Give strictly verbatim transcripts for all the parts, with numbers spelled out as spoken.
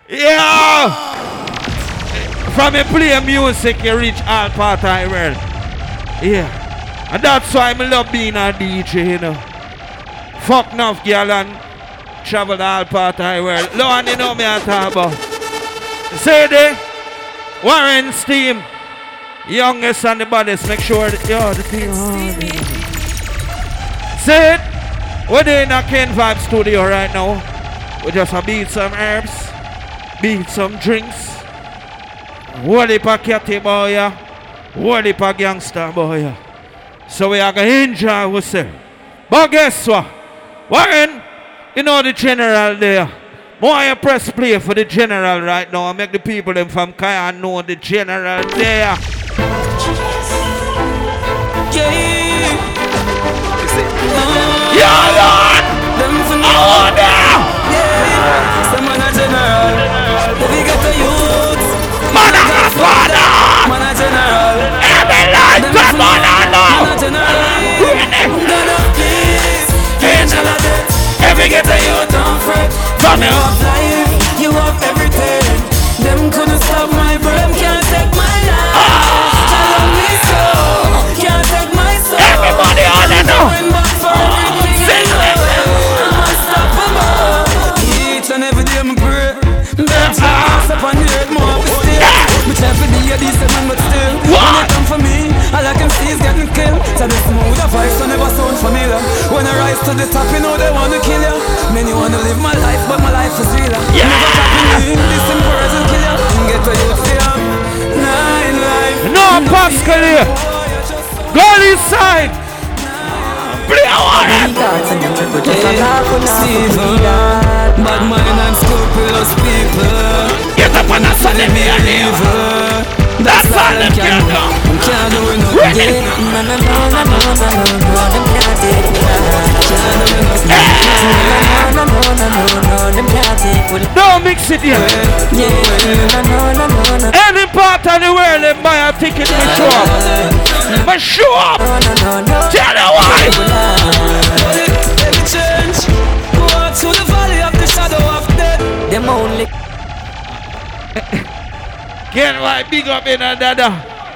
Yeah! From me play music, you reach all part of the world. Yeah. And that's why I love being a D J, you know. Fuck enough girl and travel all part of the world. Lord, you know me I talk about. Say the Warren's team, youngest and the baddest, make sure that you're the team. Say it. We're in a Ken Vibe studio right now. We just a beat some herbs, beat some drinks. What if a catty boy, yeah? What if a gangster boy, yeah? So we are going to enjoy ourselves. But guess what? Warren, you know the general there. More you press play for the general right now and make the people them from Kaya know the general there. Yeah. Yeah, Lord! Oh, there! Yeah. Someone a general. If you get the youth. Man a father! Man a general. Every life come on, man a general. Gonna please. Angel of death. Every get the youth don't fret. From your life, you have everything. Them couldn't stop my breath. Can't take my life. Tell me so. Can't take my soul. Everybody on the know. Each and every day I pray. That's why up on the earth more of the still. Which every day I decent man but still. When they come for me, all I can see is getting killed. So the smooth a voice so never sound familiar. When I rise to the top you know they wanna kill you. Many wanna live my life but my life is real. Yeah. Never copy me, this simple words will kill you. Get to you fear. Nine life. No Pascal here. Go inside. Play a warrior. Bad mind and scrupulous people. Get up on a Sunday me and leave. That's all them can do. Can't do it nothing. No, no, no, no, no, no, no, them can't take it. No, no, no, no, no, them can't take it. Don't mix it here. Yeah, no, no, no, no, no. Any part of the world they buy a ticket to show up. But show up. Tell you why. Every change. Walk through the valley of the shadow of death. Them only. Can't why big up in a dada.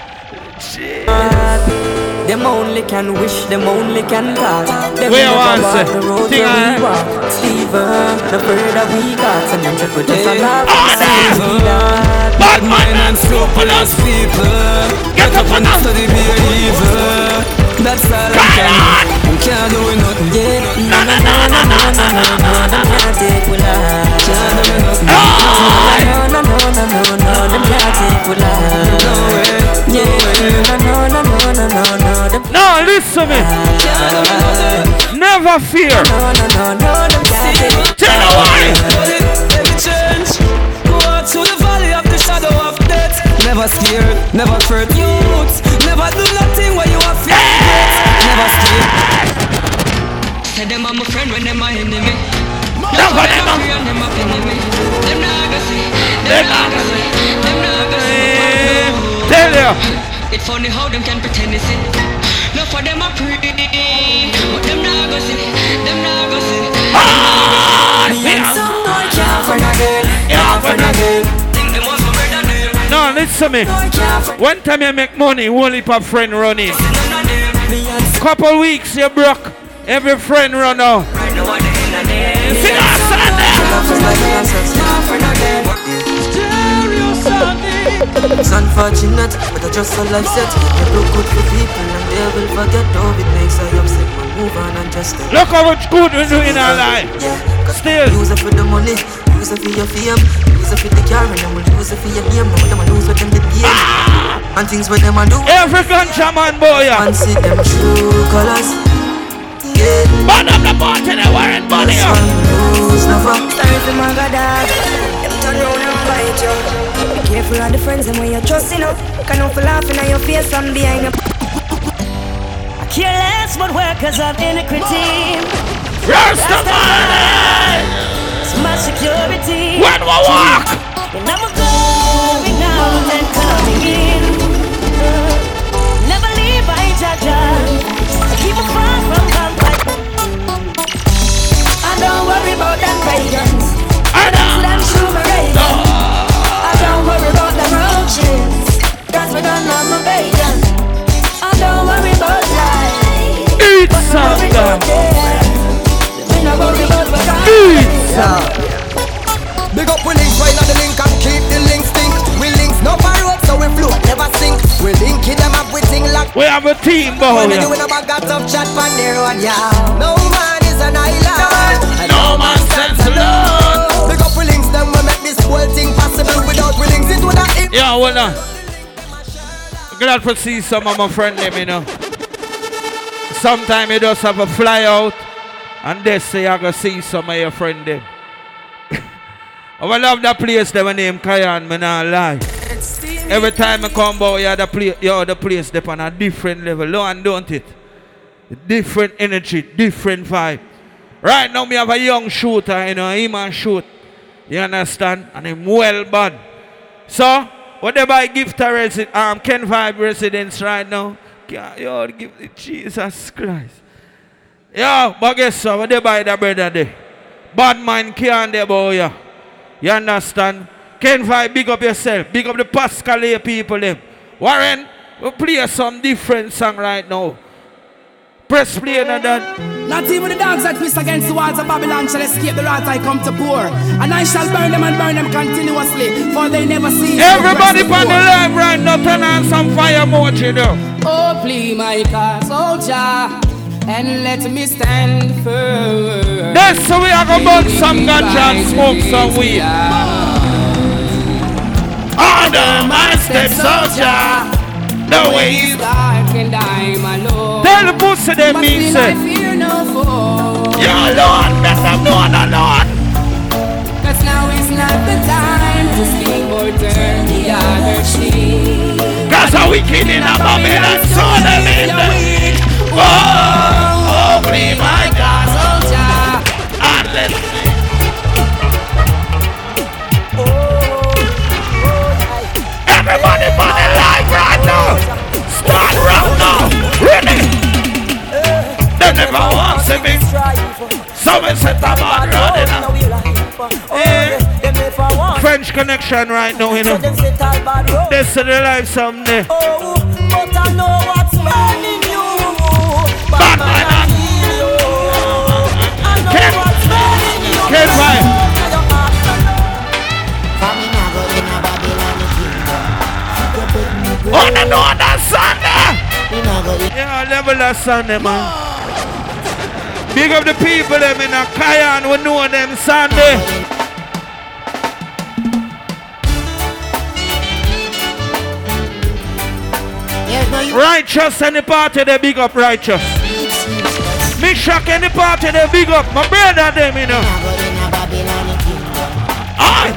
Them only can wish, them only can talk. Them where never walk the road where we walk. Steven, the bird that we got. And them triple just a laugh. Bad mind and scrupulous people. Get up and study be evil. That's all I can do. I can't do nothing yet. No, no, no, no, no, no, no, no. Them can't take with life. Can't do nothing. No, no, no, no, no, no. Them can't take with life. No way. Yeah, no, no, no, no, no, no, no. No, listen to me. Never fear. No, no, no, no, them can't take. Tell me why. Every change. Go out to the valley of the shadow of death. Never scared, never afraid. Youth, never do nothing when you are fear. Never scared. Say them are my friend when them are enemy. Never them are friend, them are enemy. Them not gonna see, them not gonna see, them not gonna see. Tell you. It's funny how them can pretend it's it. No for them are pretty, but them not gonna see, them not gonna see. Ah, some boy can't find a girl, can't find a girl. Think them was better than them. No, listen to me. One time you make money, one heap of friend running. Couple weeks you broke, every friend run out. See that it's unfortunate, but I just a life set. You look good for people and they will forget. Though it makes I upset, man, move on and just stay. Look how much good we do in our life. Yeah, still use it for the money, use it for your fame, use it for the car, and then we'll use it for your name. Now them a lose with them the game. Ah! And things with them a do. Every ganja man boy, yeah. And see them true colors. Yeah. Burn up the party, they weren't money. Lose never. Sorry for my god dog. Them turn round and bite you. Be careful of the friends and when you're trusting up. Can not for laughing at your face from behind you. I care less but workers of iniquity. Rastafari! It's my security. When we walk! And I'm going out and coming in. Never leave by Jaja. Keep a far from vampire. I don't worry about them pagans. I don't them shoot my rays. in the link and keep the link stink. We links no rope, so we float, never sink. We link it them up with thing like. We have a team, boy. When we doing a bag of tough chat on their own, yeah. No man is an island. No man stands alone. Big up we links them, we make this whole thing possible. Without we links, it would have. Yeah, hold on. Glad to see some of my friends, you know. Sometimes you just have a fly out and they say I go see some of your friends them. I love that place they name Kayan, me not lie. Every time I come by, you the place, you the place they on a different level. No and don't it. Different energy, different vibe. Right now me have a young shooter, you know, he man shoot. You understand? And him well bad. So whatever I give to resident, um, Ken Vibe residents right now, yo, give it Jesus Christ. Yo, but guess what? What they buy the brother there? Bad mind can't there, boy. Yeah. You understand? Ken Vibe, big up yourself. Big up the Pascal people them. Warren, we play some different song right now. Press play and that. Not even the dogs that piss against the walls of Babylon shall escape the wrath I come to pour. And I shall burn them and burn them continuously, for they never see. Everybody on the live right now, turn on some fire emoji though. Oh, please, my car soldier, and let me stand firm. That's so we are going to burn some ganja and smoke some weed. Order my step soldier. The way is dark and I'm alone. Tell the pussy them me say. I fear no foe. You're alone, better known alone. Cause now is not the time to sleep or turn the other cheek. Cause a wicked in a Babylon, so the lead. Oh, oh, please my God, soldier. And let's see. Everybody on the live right now. Start round now. Ready? They never want to be. Someone set a man running now. Yeah. French connection right now, you know. This is the life someday. Oh, but I know what's burning you. Bad man. Can't find. Can't find. On another Sunday. Yeah, level that Sunday, man. Big up the people them in a Kayan, we know them Sunday. Righteous any party they big up righteous. Me shock any party they big up. My brother them, you know. Aye.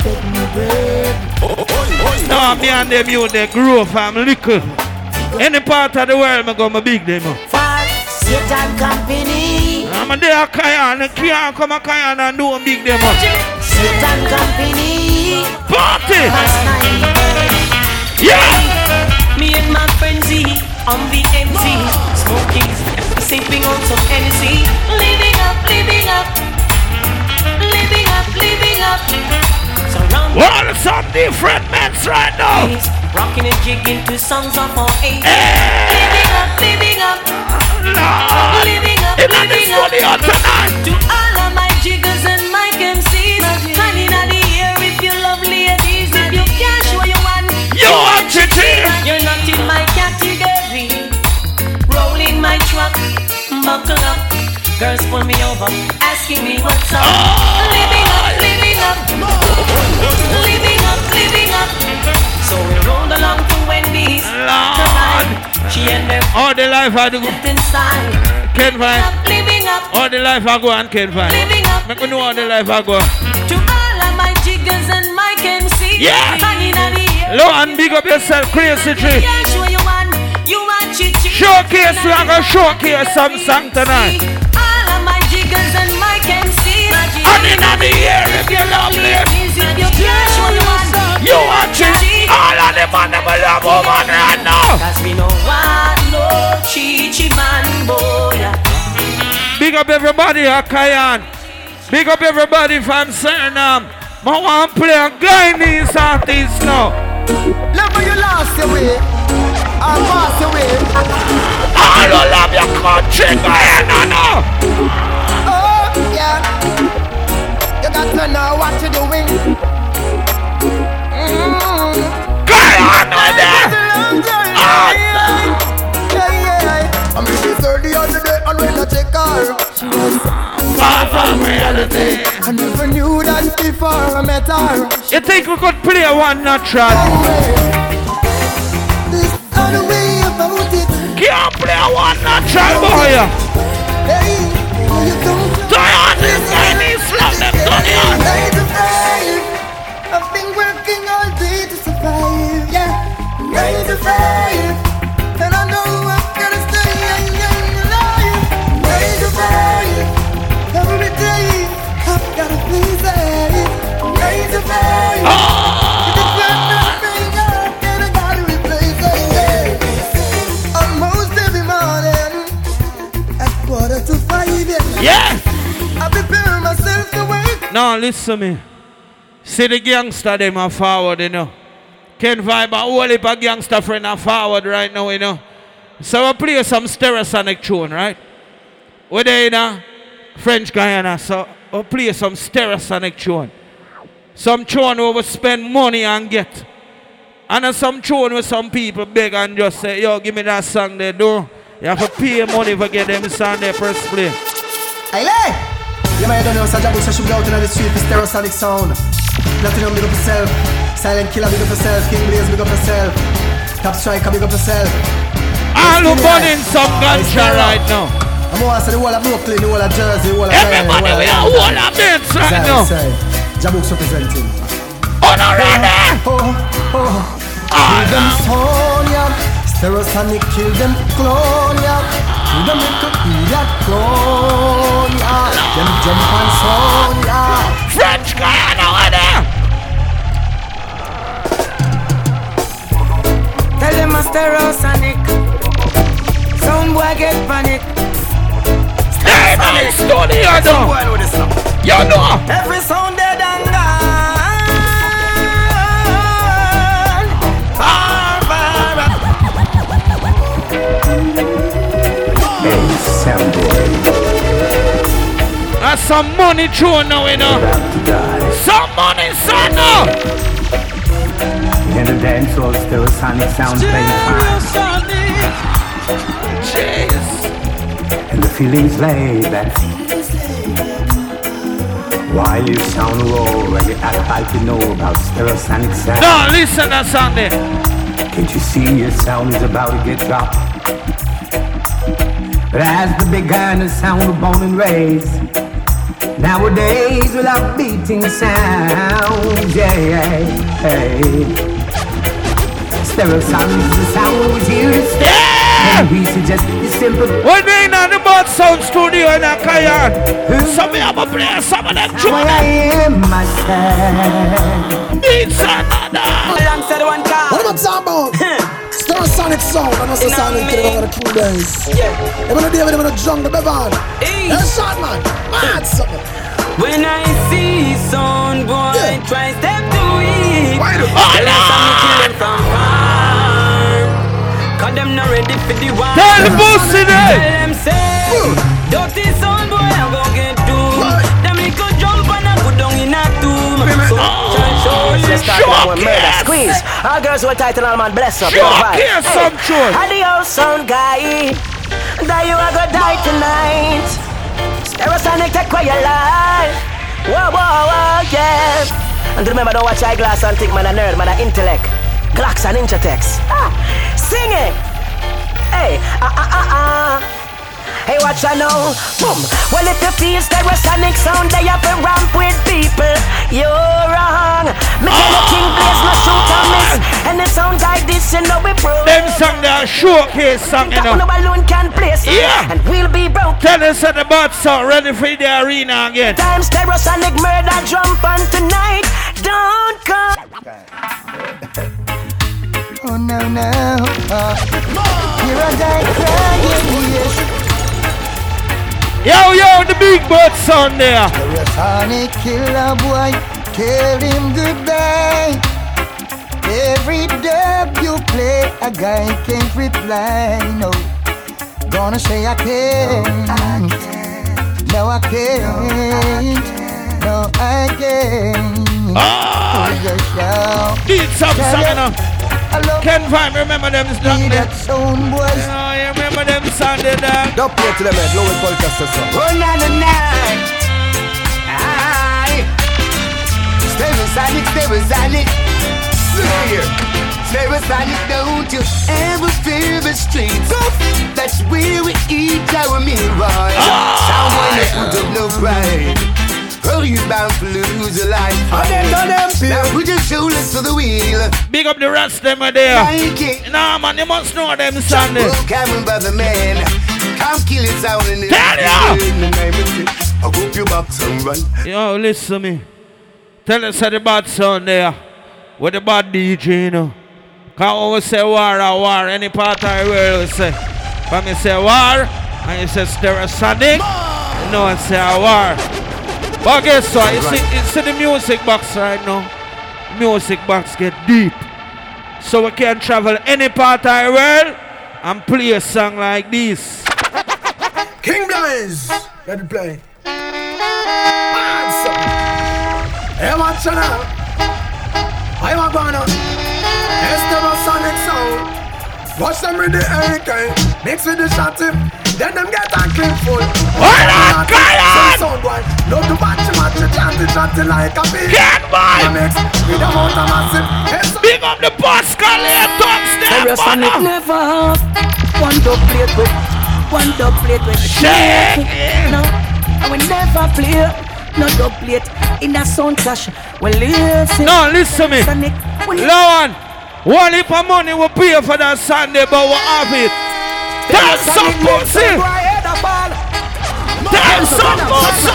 No, me and them you they grow from little. Any part of the world me go my big them up. Satan company. I'm a there Kayan, I can't come a Kayan and do a big them up. Satan company. Party! Yeah! Me and my friends on the M C, smoking, sipping on some Hennessy, living up, living up, living up, living up. Surrounded well, some different men right now. Rocking and jigging to songs of our age. Hey. Living up, living up, Lord. living up, It's living up. On tonight. To all of my jiggers and my M Cs, honey in the air if you love ladies, if you can't show you one, you want to see. You're not in my category. Rolling my truck, buckle up. Girls pull me over, asking me what's up. Oh. Living up, living up, living up, living up. So we rolled along to Wendy's. Lord. She and them all the life I do inside. Can't find. Living up, all the life I go and can't find. living up. Make me know all the life I go. To all of my jiggers and my M Cs. Yeah. Honey in the air. Low and big up yourself, crazy tree. Yeah, show you one. You want it. Showcase, we are going to showcase some song tonight. All of my jiggers and my M Cs. And in the air if you love ladies. You can't show you one. You watch it. All of them on them love woman right now. Cause we know what no chichi man boy. Big up everybody at Kayan. Big up everybody from Suriname. I want to play a Guyanese artist now. Never you lost your way. I pass away. I don't love your country, Guyana now. Oh, yeah. You got to know what you're doing. reality. I never knew that before I met her. You think we could play one natural? There's other way about it. Can't play one natural, boy. Hey, you don't Turn this Chinese slap them, turn it. nine to five. I've been working all day to survive. Yeah, nine to five. And I know I'm gonna stay alive. Nine to five. Every day I've gotta please it. Nine to five. Oh. If it's not nothing, then I gotta replace it. Almost every morning at quarter to five. Yeah. I prepare myself to work. Now listen to me. See the gangster them are forward, you know. Ken Vibe a whole heap of gangster friend are forward right now, you know. So we play some Stereosonic tune, right? We're there, you know, French Guyana, so we play some Stereosonic tune. Some tune where we spend money and get. And then some tune where some people beg and just say, yo, give me that song they do. You have to pay money for get them song there first play. Hey, you might don't know, so Jabu should go out on the street for Stereosonic sound. Platinum, big up yourself. Silent Killer, big up yourself. King Blaze, big up yourself. Top Striker, big up yourself. All who burning some ganja right now. I'm going to say the whole of Brooklyn, the whole of Jersey, the whole of everybody, we are all of this right now. Jabu's representing. Oh, no, ready! Oh, oh. Kill them Sonia. Stereosonic, kill them Clonia. Kill them little idiot Clonia. Them jump on Sonia. French Guyana, over there! Tell them a Stereosonic. Some boy get panic. Hey, man, studio, though! You know! Every sound dead and gone. Far, far, Hey, sound boy. That's some money thrown now, you know. Some money, son, now. In the dance hall, Stereosonic sound playing fine. Jeez. And the feelings lay back. While you sound raw and you act like you know about Stereosonic sound. No, listen to Sunday. Can't you see your sound is about to get dropped? But as the big guy in the sound of born and raised, nowadays without beating sound, yeah, hey. Stereosonic is the sound was here to stay. Yeah! And we suggest the simple. We're doing on the Bud Sound Studio in a Kayan. So we have a play some of them Why tunes. I am myself. It's another. alongside one car. What am I talking about? Stereosonic sound, and also sounding to the King Blaze. Yeah. They're gonna deal with them in a jungle, Bevan. Hey. Hey, shot man, mad something. When I see sound boy Yeah. try step to it, Why do- tell them some kill them from far. Cause them not ready for the war. Tell the pussy Tell there. them say, dirty sound boy I go get doomed. Right. Them little jump and I go down in a tomb. So Let's start with one murder Showcase. squeeze. All girls who are tight and all man bless up. Showcase some tune. Adios sound guy. That you are gonna die tonight. Stereosonic take away your life. Whoa, whoa, whoa, yeah. And remember, don't watch eyeglass and think man a nerd, man a intellect. Glocks and Inchatex. Ah, sing it. Hey, ah, ah, ah, ah. Hey, watch I know, boom. Well, if you feel Stereosonic sound, they have to ramp with people. You're wrong. Me tell you, King Blaze no shoot or miss. And the sound like this, you know we prove. Them song there, showcase song, you That know. no balloon can place. Yeah. And we'll be broke. Tell us that the Bud Sound ready for the arena again. Time Stereosonic murder jump on tonight. Don't come. Oh no no, uh, here I die crying, yes. Yo, yo, the big Bud Sound there. Stereosonic killer boy, tell him goodbye. Every dub you play, a guy can't reply, no. Gonna say I can't, no I can't, no I can't. Ah, Just shout. need some song, you know. I love Ken Vine, remember them song me there? that sound boys. Oh, you remember them song there, dog? Don't play to them, man. Low podcast or so. Oh, na na na. Stereosonic, Stereosonic. Look here. Stereosonic, don't you ever fear the streets. That's where we eat our meal. Someone that put up no pride. Oh, you bound to lose your life. Now put your shoulders to the wheel. Big up the rest them are there. Nah man, you must know them Sunday. Coming by the man. Come kill it sound in the Tell ya! I'll hope you back some run. Yo, listen to me. Tell us how the bad sound there. With the bad D J, you know. Can't always say war or war. Any part of the world will say. When me say war, and you say Stereosonic, you know I say a war. But guess what? You see, you see the music box right now? Music box get deep. So we can travel any part of the world and play a song like this. King Blaze, let it play. Hey, watch it now. I want to know. Stereosonic sound. Watch them with the hurricane. Mix with the shotty. Then them get a clip full. Hold on, Kyle! Sound boy. Love to match match chanty chanty like a bee. Get by! Mix with the amount of massive. Big up the Pascal here, Stereosonic never have one dub plate with one dub plate with shake. No, I will never play no dub plate in a sound clash. Well, listen. No, listen to me. Lawan, one heap of money we pay for that Sunday, but we have it. Tell some pussy. Tell some pussy.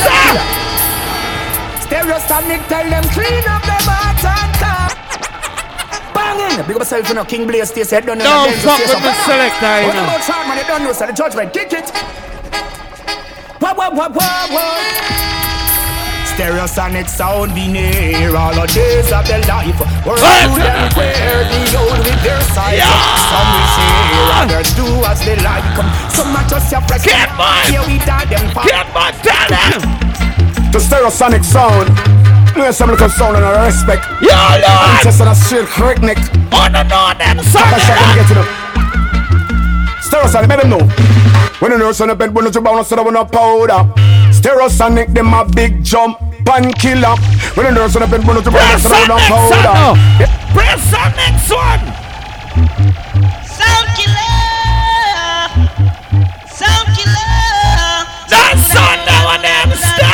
Stereosonic, tell them clean up the mat and car. Banging. Big up yourself, you know, King Blaze, stay said, don't know. Don't fuck with the selector, you know. What about Charman, you don't know, so the judgment, kick it. Wah, wah, wah, wah, wah. Stereosonic sound be near all the days of their life. We're all to them where the old with their size. Some we say, others do as they like. Some are just your fresh. Get mine! Here we die them. Get mine, tell them! The Stereosonic sound. There's some little sound and I respect. Yo, Lord! I'm just on a straight correct neck. Oh, no, no, them son. Stereosonic, let them know. When you know son of bed, when you bound, so when you powder. Stereosonic, them a big jump and killer. When you know son of bed, when you bound, so when you powder. Press on next one. Sound killer. Sound killer. That's on now and them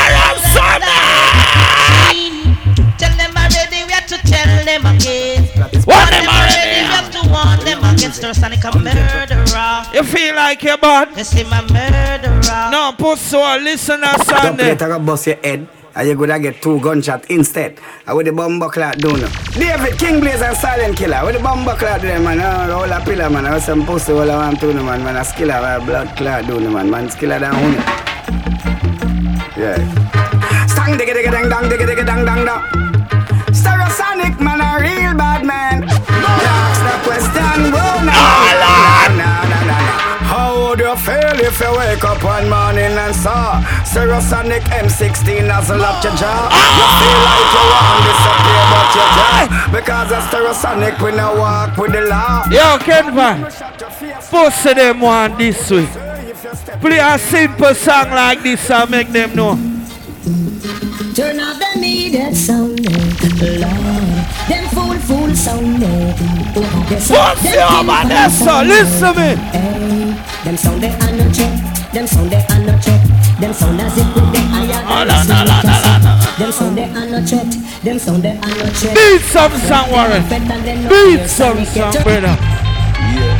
Stereosonic. Tell them already, we have to tell them again. What them already? We have to warn them against Stereosonic a murderer. You feel like you're bad? Yes, him a murderer. No, put so listen to Sunday. Don't play bust your head. And you gonna get two gunshots instead. I with the bomb buckler do no. David King Blaze and Silent Killer. With the bomb buckler do them man. All a pillar man. I was some pussy all I want to no man. Man a skiller a blood clot do no man. Man skiller down on it. Yeah. Stang digga digga dang dang digga digga dang dang dang. Stereosonic man a real bad man. Ask the question. Whoa no. No no no no. How would you feel if you wake up one morning and saw Stereosonic M sixteen as a lock your jaw? You feel like you want to disappear but you die. Because of Stereosonic we now walk with the law. Yo, Kenvan, pussy them one this way. Play a simple song like this and make them know. Turn off the needed sound, Lord. Them fool, fool sound, What's your man, that's so, listen to me. Hey, them sound they are not check, them sound they are not check, them sound as if with the iron. Oh, no, no, no, no, no. Them sound they are not check, them sound they are not check. Beat some song, Warren. Beat some song, brother. Yeah.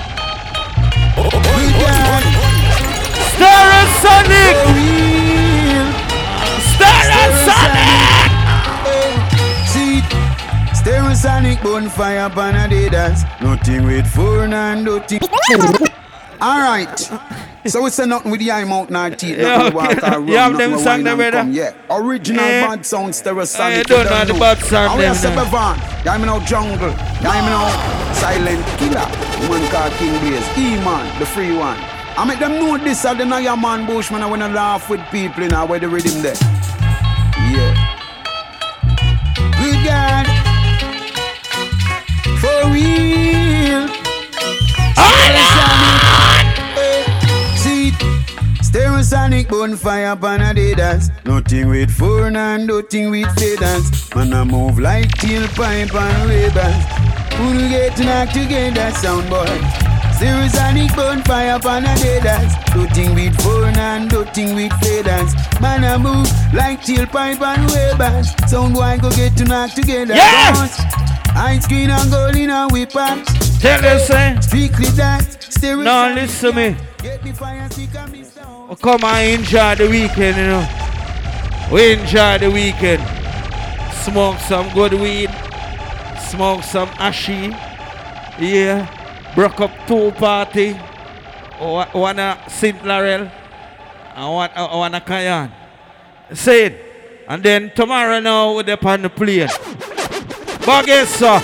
Stereosonic. Stereosonic! See, Stereosonic bonfire upon a day dance. Nothing with four and nothing. Alright. So we say nothing with the eye mouth nor teeth. Nothing with water. You have them song there, brother? Yeah. Original yeah. bad sound Stereosonic. You don't know the bad sound there. I them. say Bevan. I'm now Jungle. I'm now Silent Killer. Man called King Blaze. E-Man, the free one. I make them know this are the Naya Man Bushman. I wanna laugh with people in our where the rhythm there. Yeah. Good God. For real. See, Stereosonic bonfire upon a day dance. Nothing with four and nothing with feathers. Man, I move like tailpipe and rebels. Who get to knock together, sound boy. Serious and it burn fire upon a deaders. Do thing with phone and do thing with faders. Man, I move like tailpipe and rebels. Sound boy go get to knock together. Yes! Ice screen and gold in a whip up. Tell us, eh? Strictly that. Serious. Now listen to me. Get the fire stick and me sound. Oh, come and enjoy the weekend, you know. We enjoy the weekend. Smoke some good weed. Smoke some ashy. Yeah. Broke up two party. One a Saint Laurel. And one, uh, one a Cayenne. Say it. And then tomorrow now we're up on the plane. But guess so.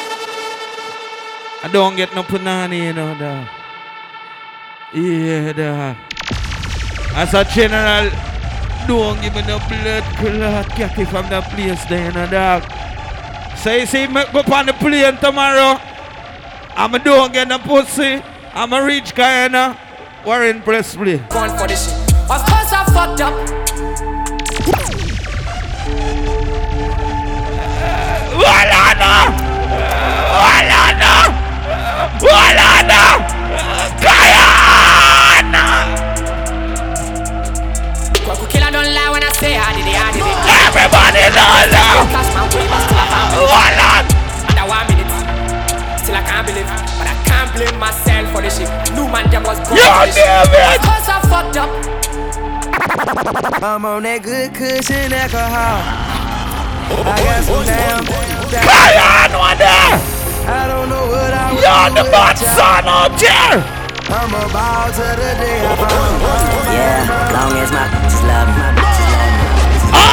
I don't get no punani, you know, dog. Yeah, dog. As a general, don't give me no blood clot catty from the place there, you know, dog. So you see me go up on the plane tomorrow. I'm a don't get no pussy. I'm a rich guy, you know. Warren Presley. Going for this shit. Of course I fucked up. Walana! Walana! Walana! Kayana! Kwaku killer don't lie when I say I did it, I did it. Everybody knows now! Flash my way, but still I can't believe. Walana! Under one minute. Still I can't believe. But I can't blame myself for this shit. New man them was born for this shit. Of course I fucked up. I'm on that good cushion alcohol. I got some damn. Kayan, one day! I don't know what I was. You're the bad son out there! I'm about to the day I found. Yeah, long as my bitches love me, my bitches love me. Ah!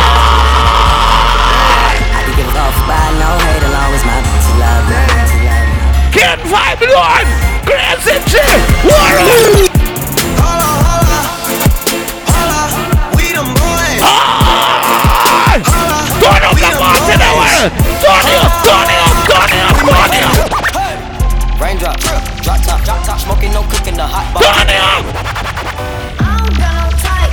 I can give a off by no hate as long as my bitches love me, my bitches love me. Ken Vibe Lord! Crazy G! Warren! Holla, holla, holla, we them boys. Ah! Turn up the mountain away! Turn it up, turn it up, turn it up, turn it up! Raindrop, drop top, drop top, smoking, no cooking, the hot bar. Turn it up! I don't got no tight.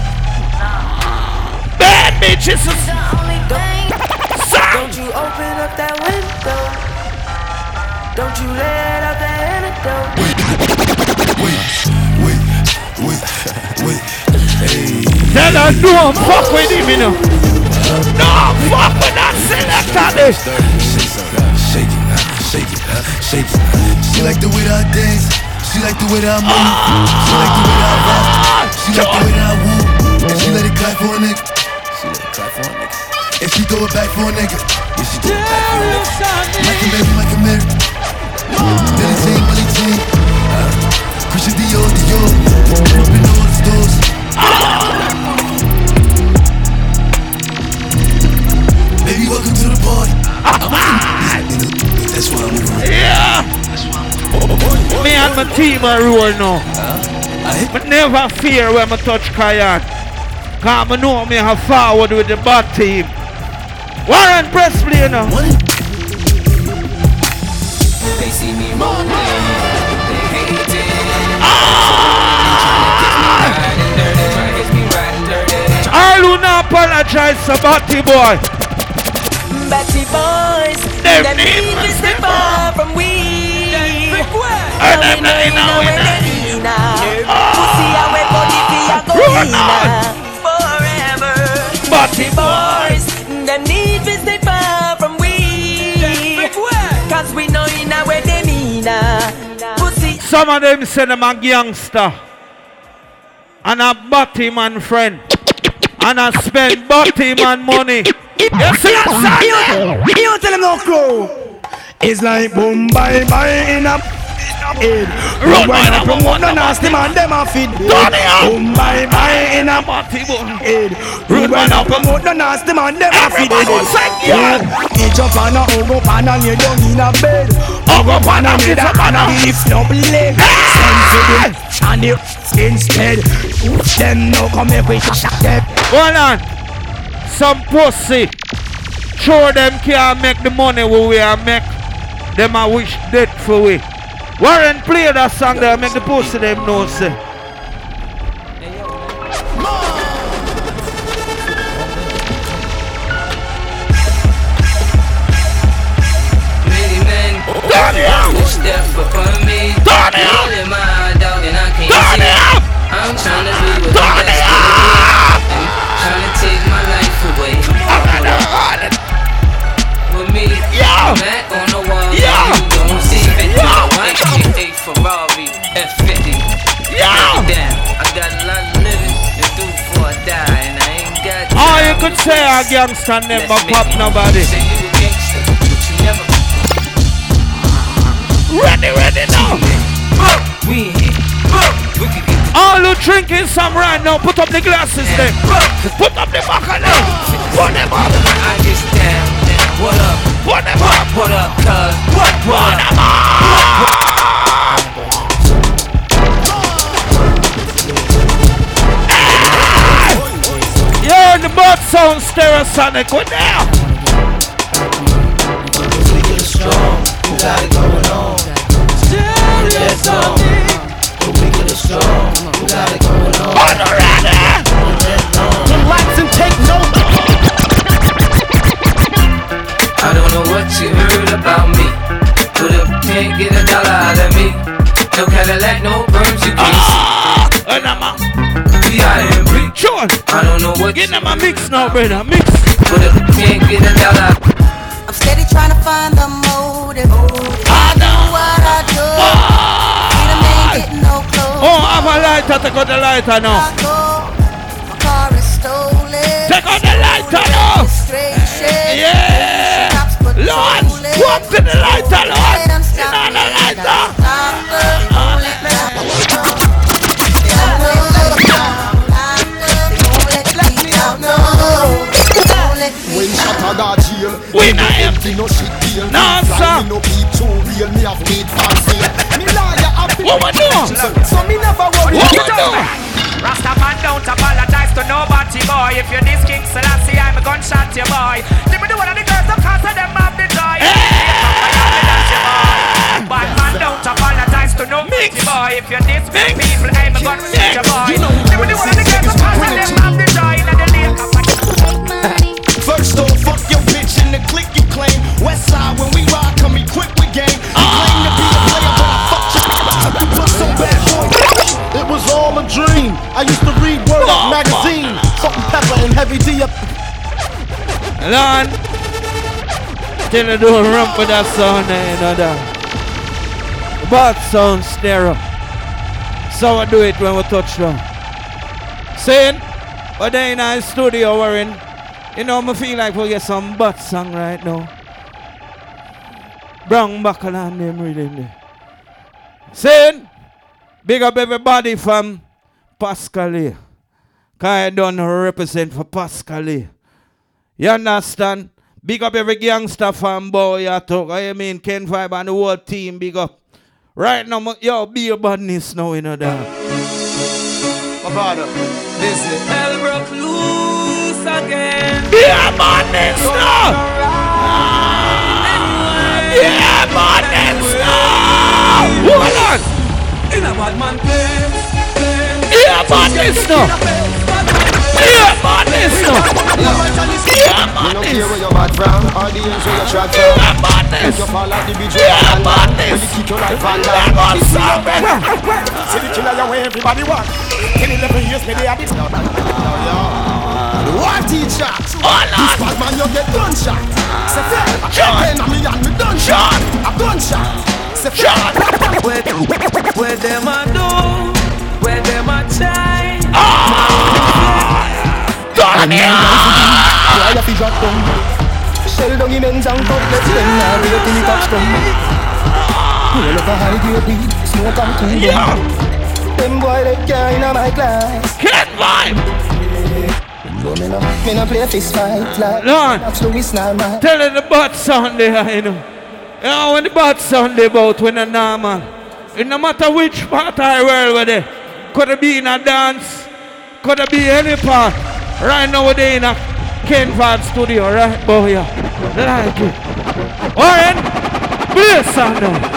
Bad bitches! The only thing. Don't you open up that window. Don't you let out that antidote. Wait, wait, wait, wait, hey. Tell her don't fuck with him, you know. No, fuck with that selector. Shake it, shake it, shake it. She like the way that I dance. She like the way that I move. She like the way that I rock. She like the way that I woo. And she let it clap for a nigga. She let it clap for a nigga. And she throw it back for a nigga. Yeah, she throw it back for a nigga. Like a Mary, like a Mary. Billy Jean, Billy Jean. Christian Dior, Dior. Up in all the stores. Baby, welcome to the party. That's why I'm with you. Yeah. Me and my team are roll now. But never fear when I touch Kayan. Cause I know me have forward with the bad team. Warren Presley, you know. They see me rolling, they hate it. Ah! Trying to get me riding dirty. I do not apologize to Batty Boy. Batty boys, Them them need need is the far from we. And them they know it. Pussy away body fi a go inna forever. Batty boys, them need is the far from we. Cause we know inna where them inna. Pussy. Some of them say them a gangster. And a Batty man friend. And I spend Batty man money. You see a sign? You tell them no crow. It's like boom bye bye in a head. Run When man, I promote no nasty man, them a feed. Boom bye bye in a head. When I promote no nasty man, them a feed. Each up on a hug up and a lay down in a bed. Hug up and a lay down and a lift no leg. Send to them and you instead. Them no come here with shot them. Hold on. Some pussy. Sure them can't make the money we we are make. Them a wish dead for we. Warren play that song there, make the pussy them know say. Mac on the wall, yeah. You don't see it. Yeah. A Ferrari F fifty. Yeah. Damn, I got a lot of living to do before I die, and I ain't got time. Oh, you could say a gangster never pop nobody. Say you a gangster, but you never. Ready, ready now. We in here. We can get all who drinking some right now, put up the glasses there. Put up the back of them. Put them up. I just down, down. What up? Put them up. What up, cuz? What? Put them up. You're the butt sound Stereosonic. What now? We get strong. We got it going on. Stereosonic. We get it strong. We got it going on. Relax and take note. I don't know what you heard about me, but if you can't get a dollar out of me, no Cadillac, no perms, you can't see. And I'm a B I M B. Sean, I don't know what get them a mix now, brother. Mix. But if you can't get a dollar, I'm steady trying to find the motive. I know what I do. Freedom ain't getting no clothes. Oh, have a lighter. Take out the lighter now. My car is stolen. Take out the lighter now. Yeah. Lord, walk to the lighter, Lord. You know the lighter. When Shatta got jail, we not empty. No shit deal. No, sir. Me no keep too real. Me have made fancy. Me liar have been. What we do? So me never worry. What we do? Rasta man don't apologize to nobody, boy. If you're this King Selassie, I'm a gunshot, you boy. Let me do one of the girls, of course, of them have the joy. Bad man don't apologize to nobody, boy. If you're this big people, I'm a gunshot, you boy. Let me do one of the girls, of course, of them have the joy. Let the lake First off, fuck your bitch in the clique you claim. Westside when we rock, come equipped with game. You claim to be a player, but I fucked you. Put some bad boy. It was all a dream. I used to read Word Up magazine. Salt and pepper and heavy D up. Lord, till I do a rump with that sound there, you know that. Bad sound stereo. So I do it when we touch down. Saying, but then in our studio we're in. You know, I feel like we get some bad song right now. Brown Buckle and them reading there. Saying, big up everybody from Pascalia. Cause I don't represent for Pascalia. You understand? Big up every gangster from Boya talk. I mean Ken Five and the whole team, big up. Right now, yo, be a badness now, you know that. My brother, listen. Elbrook loose again. Be a badness now. Be a badness now. Hold on. In a bad man place. Be a badness now. Be a badness now. Be a badness. You don't care where you're bad from, or the ends where you're shot from. Be a badness. You fall like the bitch Be a badness. when you kick your life on Be a badness. See the killer your way everybody want. ten eleven years me they have it. What teacher? This bad man you get gunshot. Say fair. I can't pay no me and me done shot. A gunshot. Say fair. Where, where them a do? Where them a try? Done me Why you fi drop down? Shell down immense and cutlets them now wait till you touch them. Roll up a high grade weed, smoke and cool down. Them boy they can't in my class. Can't vibe. No me no, me no play fist fight like Lord, that's Louis Norman. tell her the bad sound there, you know. You know when the bad sound they about when a normal. It no matter which part of the world we're there. Could it be in a dance? Could it be any part? Right now we're there in a Ken Five studio, right, boy? Yeah. Like it. Warren, play a song now.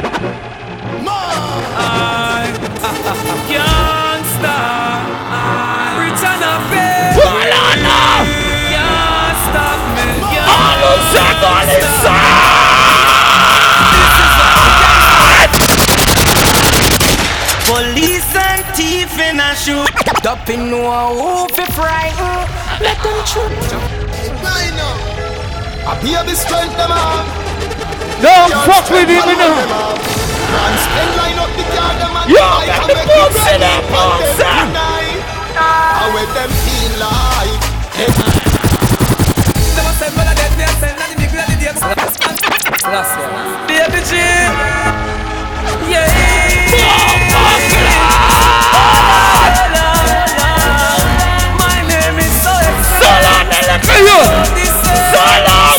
I can't stop. Return of faith. Hold on now. Can't stop me. All of that on his side. Police and thief in a shoot. Up in no who fi frighten. Let them shoot. I be a bit strength them up. Don't fuck with him, you know. Yo, get the pussy there, pussy. How will them feel like? Never said when I dead, me I said nothing big like the D M. Last one. Baby G. Yeah. My name is Solex. Solan, look at you. Solan.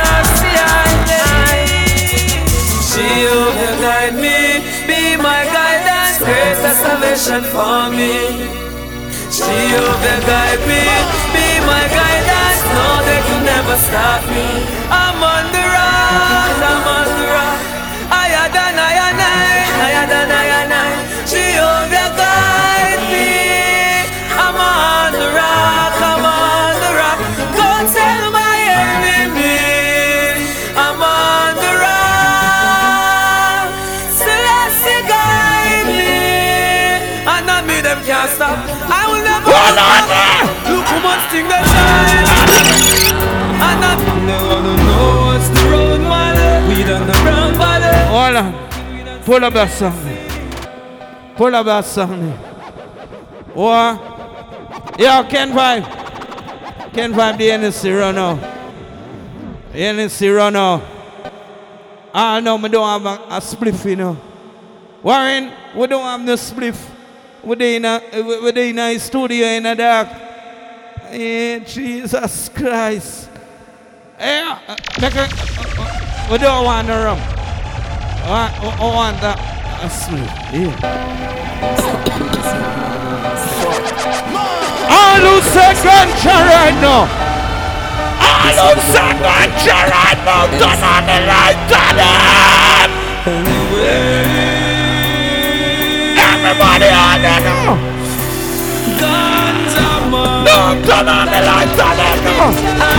She will guide me, be my guidance, create a salvation for me. She will guide me, be my guidance, no they can never stop me. I'm on the rock, I'm on the rock. Higher than I and I, higher than I and I. She will guide me. I'm on the rock, I'm on the rock. Go tell my enemy, I'm on the rock. Celeste guide me, and not me them can't stop. I will never stop. Look how much thing they shine. And not never know what's the road, man. We done the brown body. Hold on. Pull up that song. Pull up that song. What? Yeah, Ken Vibe. Ken Vibe, the N S C run out. The N S C run out. Ah, no, we don't have a, a spliff, you know. Warren, we don't have no spliff. We're in a, we're in a studio in the dark. Yeah, Jesus Christ. Yeah, uh, like a, uh, uh, we don't want the rum. I want that a spliff. Yeah. I lose a ganja right now. I lose a ganja right now. Turn on the light, turn on. Everybody on there now. Ganja man. No, turn on the light, turn on now.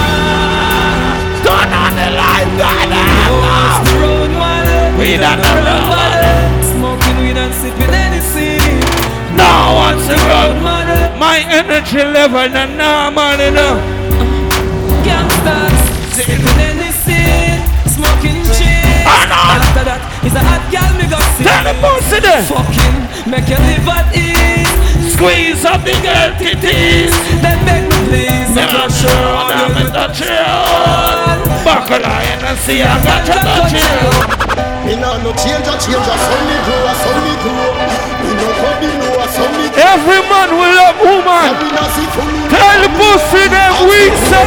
Turn on the light, turn on now. We don't know. Smoking weed and sipping anything. No one's around. My energy level not normal enough. Gangsters sipping anything, smoking shit. After that is a hot girl me go see. Tell the pussy there. Fucking make you live at ease. Squeeze up the girl titties. Then beg me please. I'm not sure I'm in the chill. Buckle iron and see I got you the chill. Me nah no change a change a some me grow a some me grow. Me no come me know a some me grow. Every man will love woman. Tell the pussy them weak say.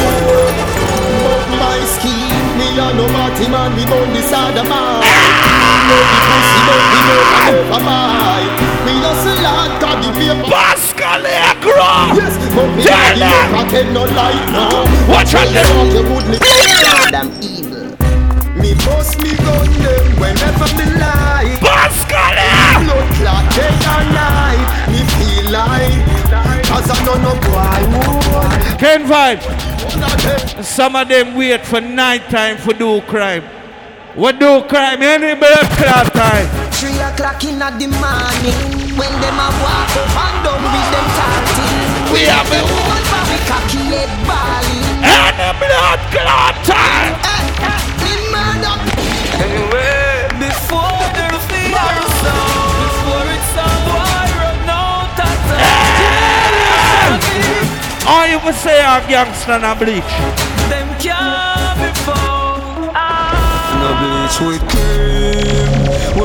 My scheme, me a no party man, we gon' decide the man. No the pussy, no the no over my. Me hustle hard, got the paper. Pascal Agro. Yes, but me a the paper can no light now. Watch out them. You would me damn evil. Me bust me gun them whenever me lie. Pascal. Blood clot day and night. Me feel like cause I don't know why. Ken Vibe. Some of them wait for night time for do crime. What do crime? Any blood clot time. Three o'clock in the morning when them a walk up and down with them talking. We have a woman for me cocky head balling. Any blood clot time. Anyway, before the fear sound, before it's all I run out of time. All you would say are gangster and bleach. Them can't be found. No bleach with cream.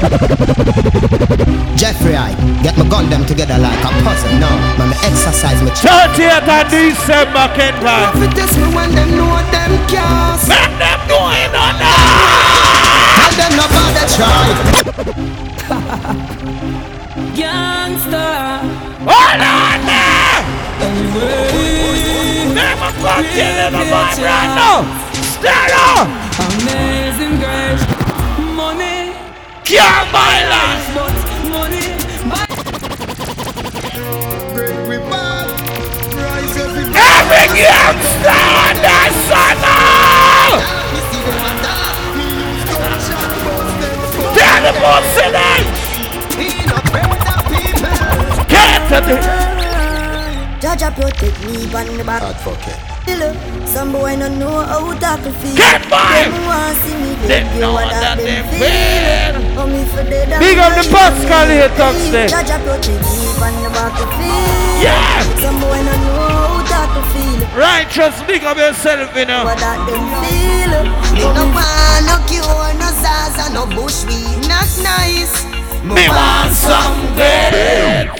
Jeffrey, I get my gun them together like a puzzle. No, man, me exercise me. thirtieth of December, Ken Vibe. If it is me when them know them can't. Make them know it or not. Tell them nobody try. Gangster. Hold on there. Never fuck killing the vibe right now. Stand up. Amazing grace. Money. Can't buy life. But money. Break we bad. Rise every Every gangster on that sun. Tell the pussy then. Get to the Jaja protect me on the back. Advocate. Some boy no know how to tackle feel. Get mine! Them want see me They dead, know what that that they them feel. feel. Oh, me for dead and Big up the dying, Pascal here, feel. talks there. Jaja protect me on the back of feel. Yeah! Some boy no know how to tackle feel. Right, just big up yourself, you know. What that them feel. Me no want no cure, no Zaza, no bushweed, not nice. Me want some good.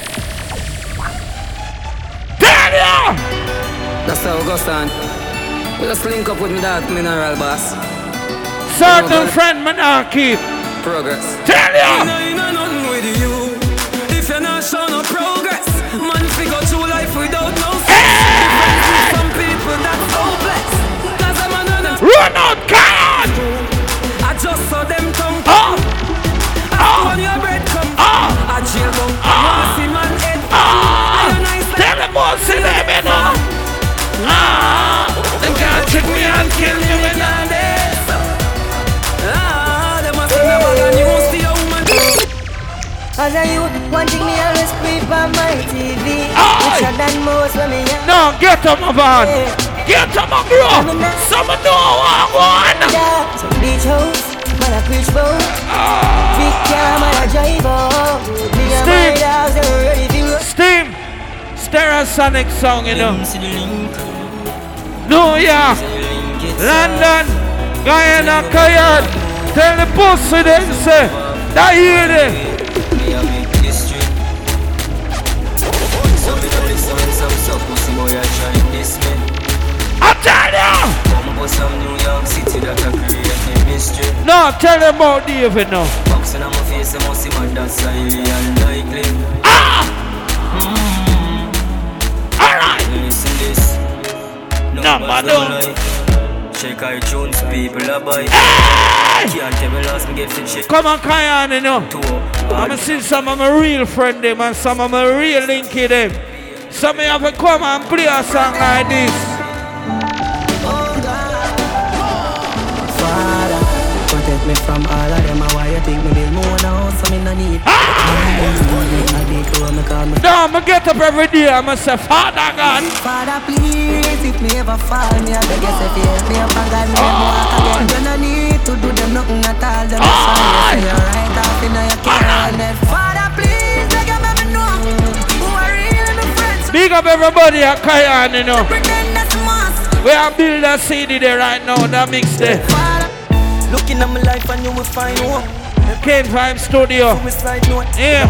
Daniel! That's how it goes on. We just link up with me that mineral boss. Certain friend man I keep. Progress. Tell ya! You know nothing with you. If you're not showing no progress, man figure through life without no stress. Some people that's hopeless. Cause I'm on run out, God! I just saw them come. Oh! Oh! On your bread come. Oh! I chill come. Oh! See man head. Oh! Tell them all, see them, you know. Ah! They can't trick me and kill me with that. Ah! They must never gonna use the woman. As a youth, one thing me always creep on my T V. Richer than most when me young. No, get up my van. Get up my bro. Someone know how I want. Some beach house, man I preach bout. Big car, man I drive out. Me and my dogs are ready to Steam. Stereosonic song, you know. New York, London, Guyana, Cayenne. Tell the pussy them say, that hear them. I tell you. No, tell them about David now. Ah! No, man, no. Check iTunes, people are buy. Can't tell me last me get fit shit. Come on, Kayan, you know. I'm see some of my real friend them and some of my real linky them. Some of you have to come and play a song like this. Father, protect me from all of them. Why you think me build more now? So me no need. No, I'ma get up every day. I'ma say, Father God. Father, please, if me ever fall, me I beg you say fi help me up and guide me and walk again. You no need to do them nothing at all. Them just want you say you're right off in your care. Father, please, beg you let me know who are real and friends. Big up everybody at Kayan, you know. We are build a C D there right now. That mix there. Looking at my life and you will find hope. Kane Vibe Studio. Yeah.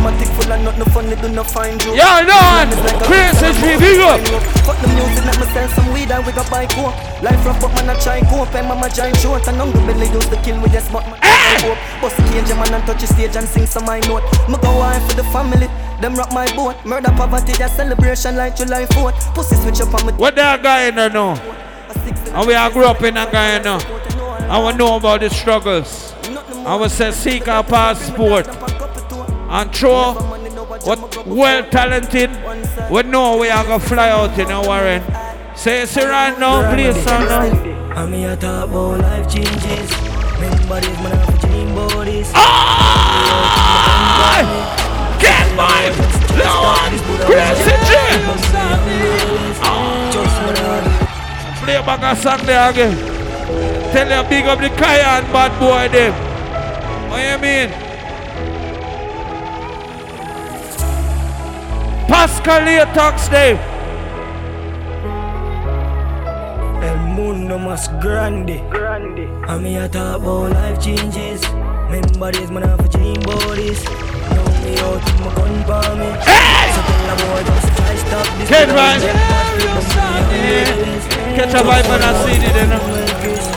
Yo, Lord. Chris is big up. Fuck the music, let myself some weed and we got buy coke. Life rough, but man I try cope. And mama giant short and hungry belly used to kill with this but man I hope. Bust the cage man and touch the stage and sing some my note. Me go on for the family. Them rock my boat. Murder poverty, their celebration like July fourth. Pussy switch up on me. What that guy in there now? And we all grew up in that guy now. I want to know about the struggles. I will say seek our passport and throw what well talented we know we are gonna fly out, you know, Warren. Say so right now, please, son. I'm here to talk about life changes. Remember this man have dream bodies. Get mine! Lord! Crazy J! Play back a song there again. Tell you big up the Kayan bad boy them. What you mean? Pascal here talks them. El mundo más grande. Grande. I'm here to talk about life changes. Remember this man have dream bodies. Know me out in my gun for me. Hey! So tell them boy just try stop this. Get right. Catch a vibe and I see it then.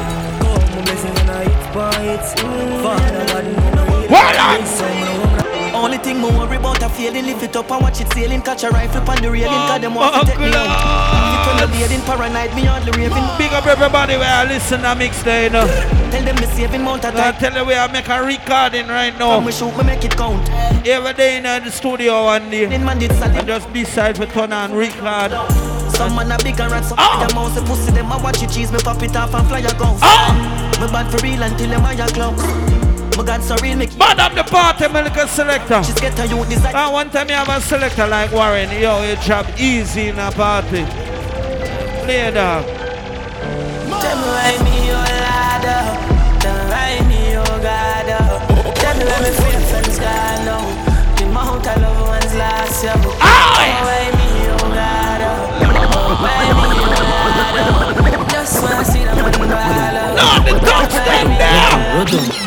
Only thing me worry about a feeling, lift it up and watch it sailing. Catch a rifle on the railing, cause them want to take me out. If you turn the paranoid, me hardly raving. Big up everybody where I listen to mix there, you know. Tell them me saving mount of time. Tell them we are making a recording right now. When we shoot, we make it count. Every day in the studio one day. And just decide to turn on record. Some man a big and rat, some oh. Them mouse a pussy, them a watch it cheese, me pop it off and fly a gun. Oh. Me bad for real until them higher clowns. My God, so real, make Bad up the party, my little selector. She's get a youth design. And one time you have a selector like Warren, yo, you job easy in a party. Play dog. Tell me why me, oh lad, tell me why me, oh God, tell me why me feel friends gone now. The amount of love ones last year. Oh, why me, oh God, why me, oh Lord, just wanna see the man ball. No, the dogs stand there.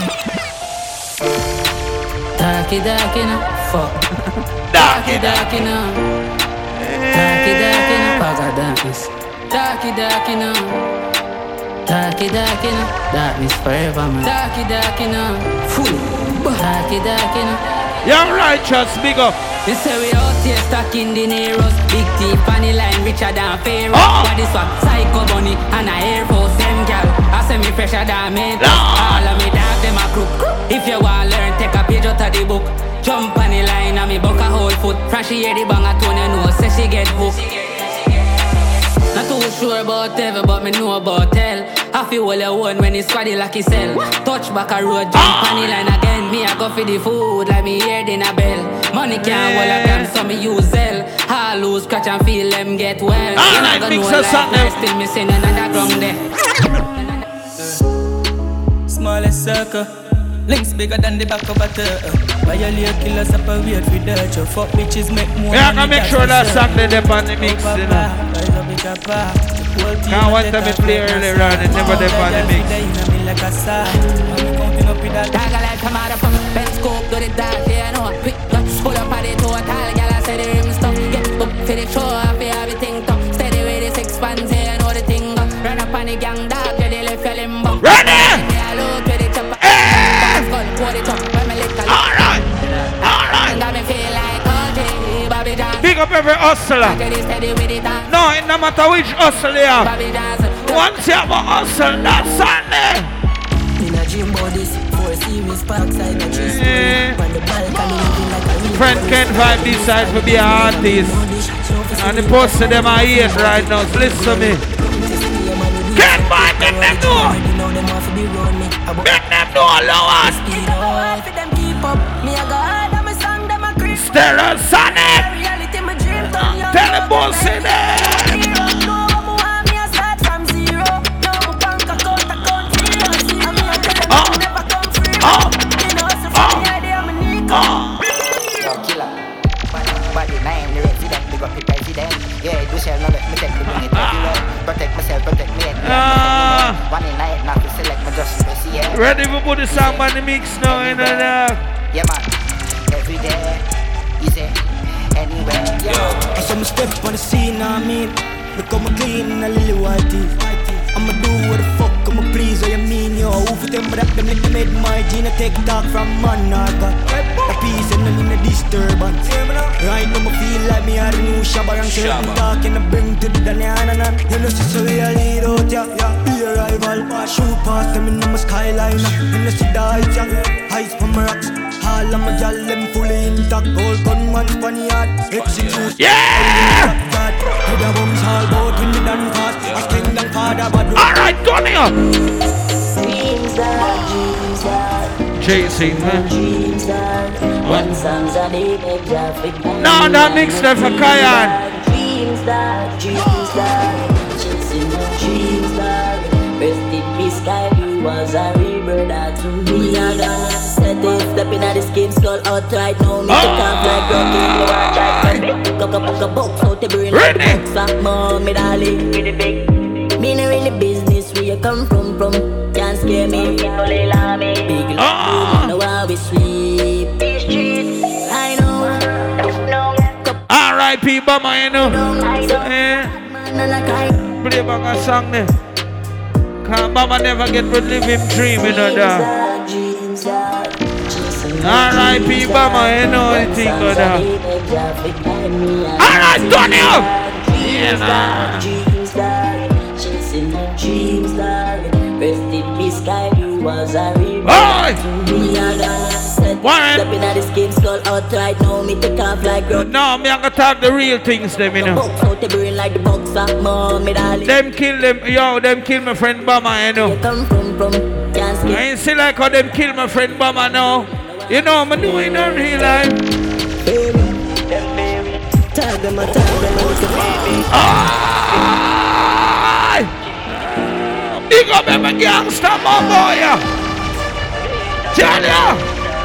Darky, darky, no, fuck. Darky, darky, no. Darky, darky, no, fuck our darkness. Darky, darky, no. Darky, darky, no. Darkness forever, man. Darky, darky, no. Fool. Darky, darky, no. Young righteous, big up. They say we out here stuck in the Neros. Big T, funny line, richer than Pharaoh. Oh. But this one, Psycho Bunny and a Air Force, them gal. I say me fresher than me. No. All of me dog, them a crook. If you want learn, take a page out of the book. Jump on the line and me buck a whole foot. From she hear the bang a tone, you know, say she get hooked. Not too sure about ever, but me know about tell. I feel all you want when it's squaddy like his cell. Touch back a road, jump on the line again. Me I go for the food like me hear in a bell. Money can't hold a gun, so me use Zell. I lose, scratch and feel them get well. Ah, you like not gonna mix know us up like still me sing another ground there. Smallest circle. Links bigger than the back of a turtle. Violate killers separate with dirt. Your fuck bitches make more. Yeah, I can make sure that song they dip on the mix, you know. Can't want them to play earlier on and never dip on the mix. Dagger like come out of from Ben Scope, do the dark, yeah, I know. Quick touch, pull up on the total. Girl, I say the rim stuff. Get up for the show, I feel everything tough. Steady with the six fans, yeah, I know the thing go. Run up on the gang, dog, yeah, they left your limbo. Run it! Alright, alright. Big up every hustler. No, it no matter which hustle you have. Once you have a hustle, that's Sunday. Friend can't find B-side for be an artist. And the post to them I hate right now, so listen to me. Can't find them, them know. Make them know, Lord. Stella Sonic. Tell the boss in there. Oh. Oh. Oh. Oh. Killer. Body name, the resident, big up the president. Yeah, do shall not let me take the bring it everywhere. Protect myself, protect me. One in night, not to select my just to see it. Ready for put the song on the mix now, you know that? Yeah, man. Every day, easy, anywhere. Yeah. I saw me step on the scene, I mean. Look how me clean in a little white teeth. I'ma do what the fuck I'ma please, what you mean, yo. Who for them, but up them like they made my gene. I take talk from Monarca. The peace and then in the disturbance. Right now, I feel like me are the new Shabba. And certain talk and I bring to the Daniana. You know, see, so we are lead out, yeah, yeah. Be a rival. Shoot past them in my skyline. You know, see the heights, yeah. Heights from my rocks. All of my y'all, them fully intact. All gunman, funny yard. Execute. Yeah! To the bombs, all boat in the done fast. I spend them father, but alright, turn it up. Chasing, man. No, that mix there for Kayan. Dreams that, dreams that, chasing the dreams that. Rest in peace, Sky Blue was a real brother to me. I got set it, stepping at the skin skull outright. No, me to camp like rocking the world like cock up a box out the brain like box. Fat mom, me darling, with the big. Me no in the business where you come from, from. Can't scare me, no lay la me. Big love, know how we sweep these streets. I know, no. R I P Bama, you know. Eh. Play back a song there. Cause Bama never get to live him dream, you know that. R I P Bama, you know the thing of that. Alright, turn it up! Yeah, nah. Chasing the dreams, darling. Rest in peace, Sky Blue was a real Warren. Stepping at the skin skull outright. Now me take off like road. No, me I'm gonna talk the real things, them, you know. Box out the brain like the box of mom, me darling. Them kill them, yo, them kill my friend Bama, you know. You come from, from. Can't I ain't see like how them kill my friend Bama now. You know, I'm doing in real life. Baby, tag them, tag them, baby. Big up them gangster, my boy. Tell ya.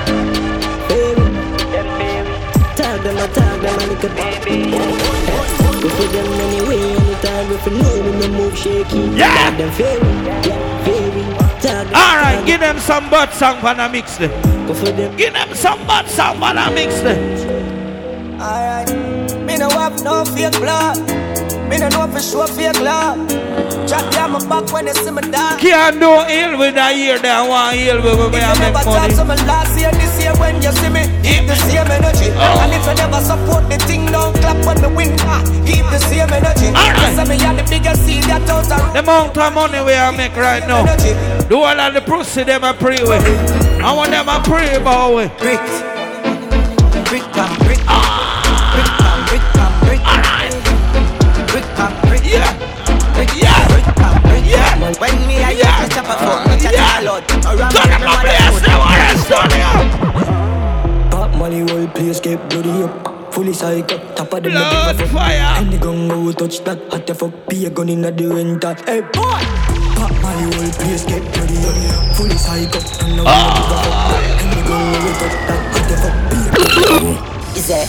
Tag them, tag them, little baby. Go for them anyway, anytime if you know when you move shaky. Yeah. Tag them fairy, yeah, fairy. Tag them. All right, give them some bad song for the mix them. Go for them. Give them some bad song for the mix them. All right, me no have no fake blood. Me no know for sure fake love. Drop down my back when they see me down. Can't do ill with a year that one ill with me I make money. If you never talk to me last year, this year when you see me, keep the same energy. Oh. And if you never support the thing, don't clap when me win. Ah, keep the same energy. Alright. Cause me are the biggest seed that out there. The amount of money we are make right now. Do all of the pussy them I pray with. I want them I pray about with. Brick, brick, pam, brick, brick, pam, brick, pam, brick, brick, pam, brick, yeah. Yeah, yeah. When me I yeah. Chop a fuck, me chat a lot. Around me, my place, they want to stun you. Pop money, whole place get bloody up. Fully psycho, top of the blood fire. Any gun go touch that, hot the fuck, be a gun in the winter. Hey boy, pop money, whole place get bloody up. Fully psycho, and no one give a fuck. Any gun go touch that, hot the fuck, be a gun. Is that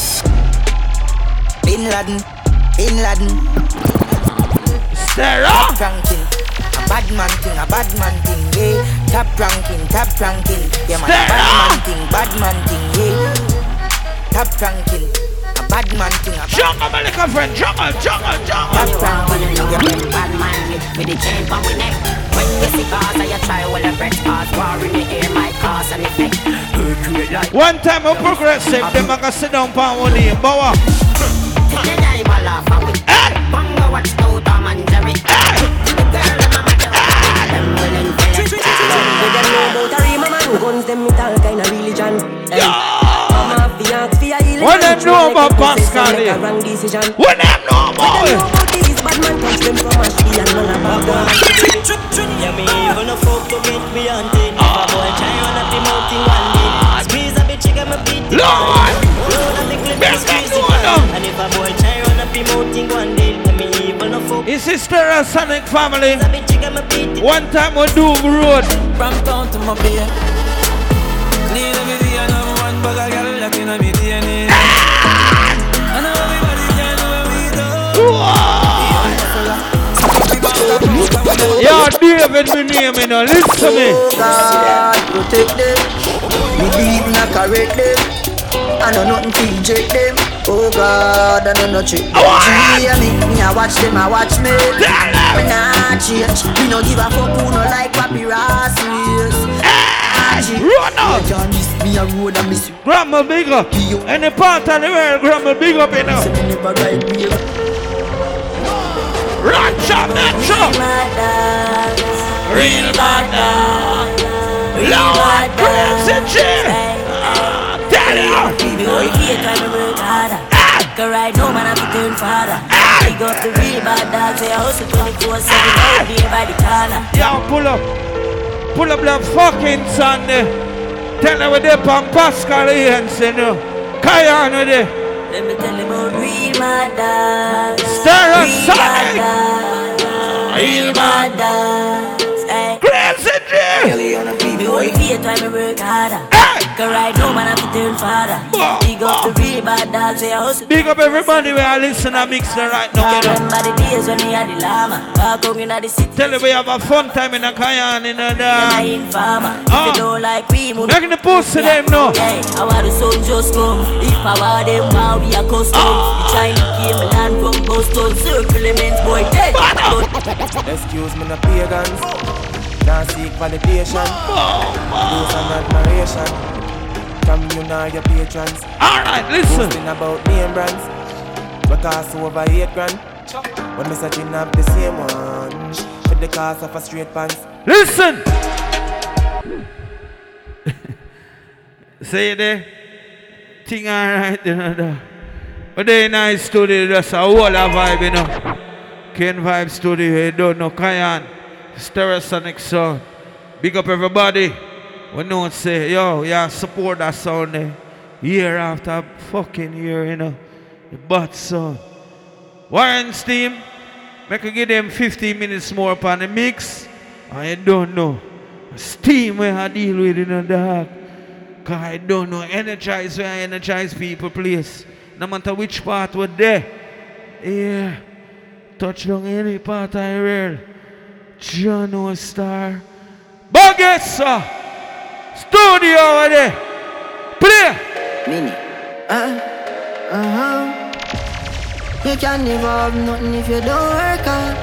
Bin Laden, Bin Laden. Sarah. Top ranking, a bad man thing, a bad man thing, yeah. Top ranking, top ranking, yeah man, a bad man thing, bad man thing, yeah. Top ranking, a bad man thing, a bad jungle, my little friend, jungle, jungle, jungle. Top ranking, yeah. Bad man with the chain from my neck. When you see cars, I try while I break cars. War in the air, my cause and effect. One time I'm progressive, them I can sit down for one day, bow. Hey! Bongo watch no Tom and Jerry. Hey! The girl and mama them willing for it. With them know about a rima man, guns them with all kind of religion. What them know about Pascal here? What them know about it? These bad man touch them from a tree and none about them. Yeah, me even a fuck to get me hunted. If a boy try on a team out in one day, squeeze a bitch, you got me beat it. Lord! Load and the clip is squeeze it. And if a boy try on a team out in one day, me even a fuck. His sister and Sonic family. One time we do road. From town to my beer. Clean every day and I'm one bag of girl that in my D N A. I know everybody can know what we do. Yo, David, me name, you know, listen to me. God, protect them. Me leave not correct them. I know nothing to eject them. Oh God, I know no trick. See me, me I watch them, I watch me. Me nah change. Me no give a fuck who no like paparazzi. Run up! Me a road and miss you. Grandma big up. Any part of the world, Grandma big up, you know. Run, chop that chop. Real bad dog. Lord, crazy chill. Tell you. Boy, here try to work harder. Go right home and have to turn father. Big up the real bad dogs. They hustle twenty-four seven out there by the corner. Yo, pull up. Pull up that fucking Sunday. Tell them with the Pam Pascal Hansen, you know. Kayan with it. Let me tell you about real bad dogs. Stir up Sonic. Real bad dogs. Crazy Jim. Boy, here try to work harder. Go right home and have to turn father. Big up the real bad dogs. They hustle. Big up everybody where I listen and mix them right now. Remember the days when we had the llama. Walk home in the city. Tell them we have a fun time in a Kayan in a dance. If you don't like we move. Making the post to them now. Hey, I want the sun just come. If I want them, wow, we are custom. The Chinese came land from Boston. Circle immense boy. Hey, excuse me, no pagans. Can't seek validation. Those and admiration. From you now, your patrons. Alright, listen. Posting about name brands. Because over eight grand. When me searching up the same one. With the cost of a straight pants. Listen. Say there. Thing alright, you know. But they nice studio, just a whole vibe, you know. Ken Vibe Studio, you don't know, Kayan. Stereosonic sound. Big up everybody. We know say, yo, yeah, support that sound there. Year after fucking year, you know. The bad sound. Warren's team, make I give them fifteen minutes more upon the mix. I don't know. Steam where I deal with in the dark. Cause I don't know. Energize where I energize people, please. No matter which part we're there. Yeah. Touch down any part I real. John O Star. Bugger, studio over there. Play. Mini. Uh, uh-huh. You can never have nothing if you don't work hard.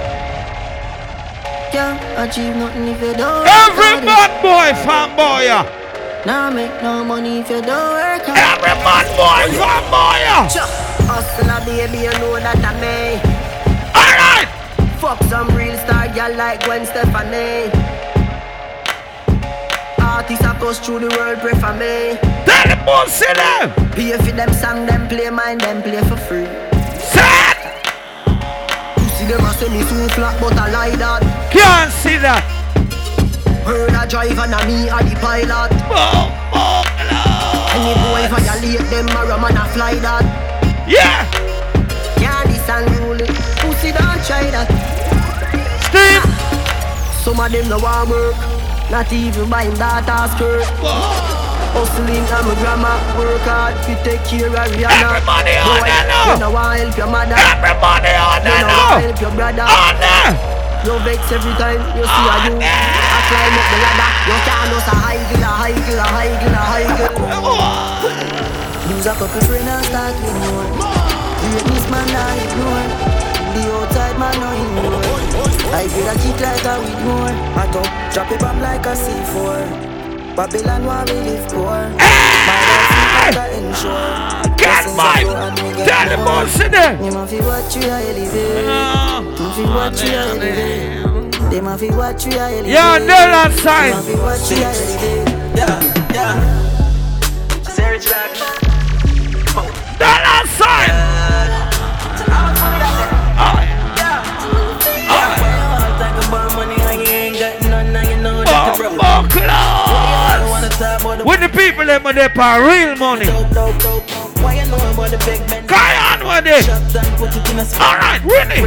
Can't achieve nothing if you don't work hard. Every bad boy, fanboy. Now make no money if you don't work hard. Every bad boy, fanboy. Hustle a baby, you know that I may. Alright. Fuck some real star girl like Gwen Stefani. Artists a bust through the world, pray for me. Tell the boss in them. Pay for them song, them play mine, them play for free. Set. You see them a say me too flat, but I lie that. Can't see that. Heard a driver and me a the pilot. Oh, oh, any boy violate them, a man a fly that. Yeah. Can't this and rule it. Pussy don't try that. Steve. Some of them no want work. Not even buying daughter's skirt. Hustling and my grandma work hard to take care of Rihanna. Everybody on boy, that now. You know I help your mother. Everybody on that now. You know now. I help your brother. On that. You vex every time you see a you. I climb up the ladder. You can't lose a high girl, a high girl, a high girl, a high girl. Lose a couple friends and start with more. Greatness man I ignore. The outside man no ignore. I feel a kick like a weed more. I top, drop it bomb like a C four. Babylon where we live poor. My life is like a ensure. Get my, tell the boss in there. You must watch you elevate. You must watch you elevate. They must watch you elevate. Yeah, dollar sign. You must watch you elevate. Yeah, yeah. Sarah's back. Dollar sign. When the people them are there for real money. Carry on with it. Alright, Winnie.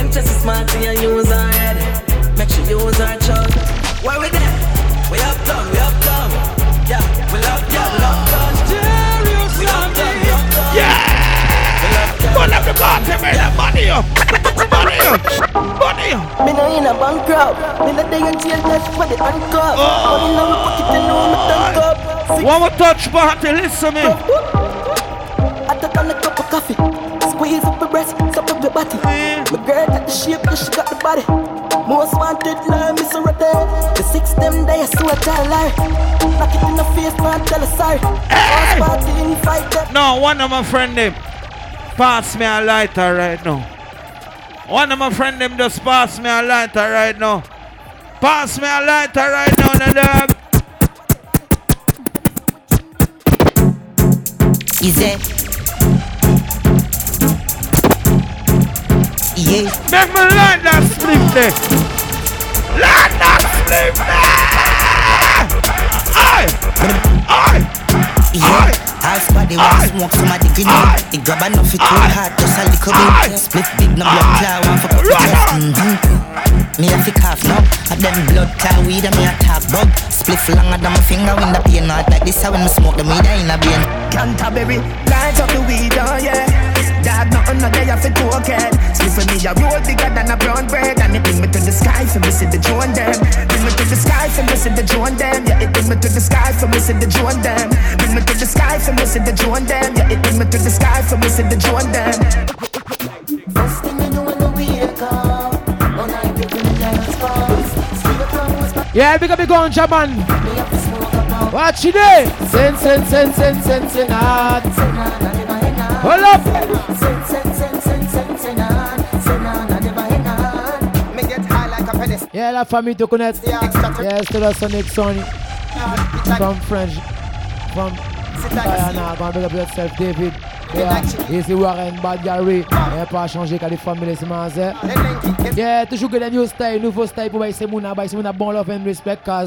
Make sure you use our chug. Where we there? We up done, we up done. Yeah, we love done, we love done. We love done, we love done. Yeah! Pull up the bottom, man, that money up. Money up. Money up. Me no in a bankrupt. Me no day in jail just for the handcuff. Money in my pocket and know me tank up. One more touch party, listen me. I took on a cup of coffee. Squeeze up my breast, suck up your body. My girl got the shape, yeah, she got the body. Most wanted, love me so right there. The six them days, so I tell lie. Knock it in the face, man, tell her sorry. Hey. Party in fight them. No, one of my friend them pass me a lighter right now. One of my friend them just pass me a lighter right now. Pass me a lighter right now, the dog. Easy. Yeah. Make me light that split there. Light that split there. Aye. Aye. Yeah. Half body want smoke, somebody green out. They grab enough, it too hard, just a little bit. Split big, no blood clot, one for put the chest. Mm-hmm. Me a fi cough now, a them blood clot weed and me a talk bug. Split longer than my finger when the pain not like this. How when me smoke the weed in a vein. Canterbury, light up the weed, oh yeah. Dog nothing no day off it to a cat. Split for me a roll bigger than a brown bread. And it bring me to the sky for me see the drone them. Bring me to the sky for me see the drone them. Yeah, it bring me to the sky for me see the drone them. Bring me to the sky for me see the drone them. Yeah, it bring me to the sky for me see the drone them. First thing you know when the wake up, all night we do the dance first. Yeah, big up the gunja man. Watch it there. Sen sen sen sen sen sen hard. Hold up. Yeah, la famille to connect. Yes, to the Sonic Sony. From French. From Kaya na, go and big up yourself, David. Yeah, ici Warren, Bad Gary. Il pas changé quand les familles se mangent. Yeah, toujours que des new style, nouveau style pour baisser mon abai, c'est mon bon love and respect, cause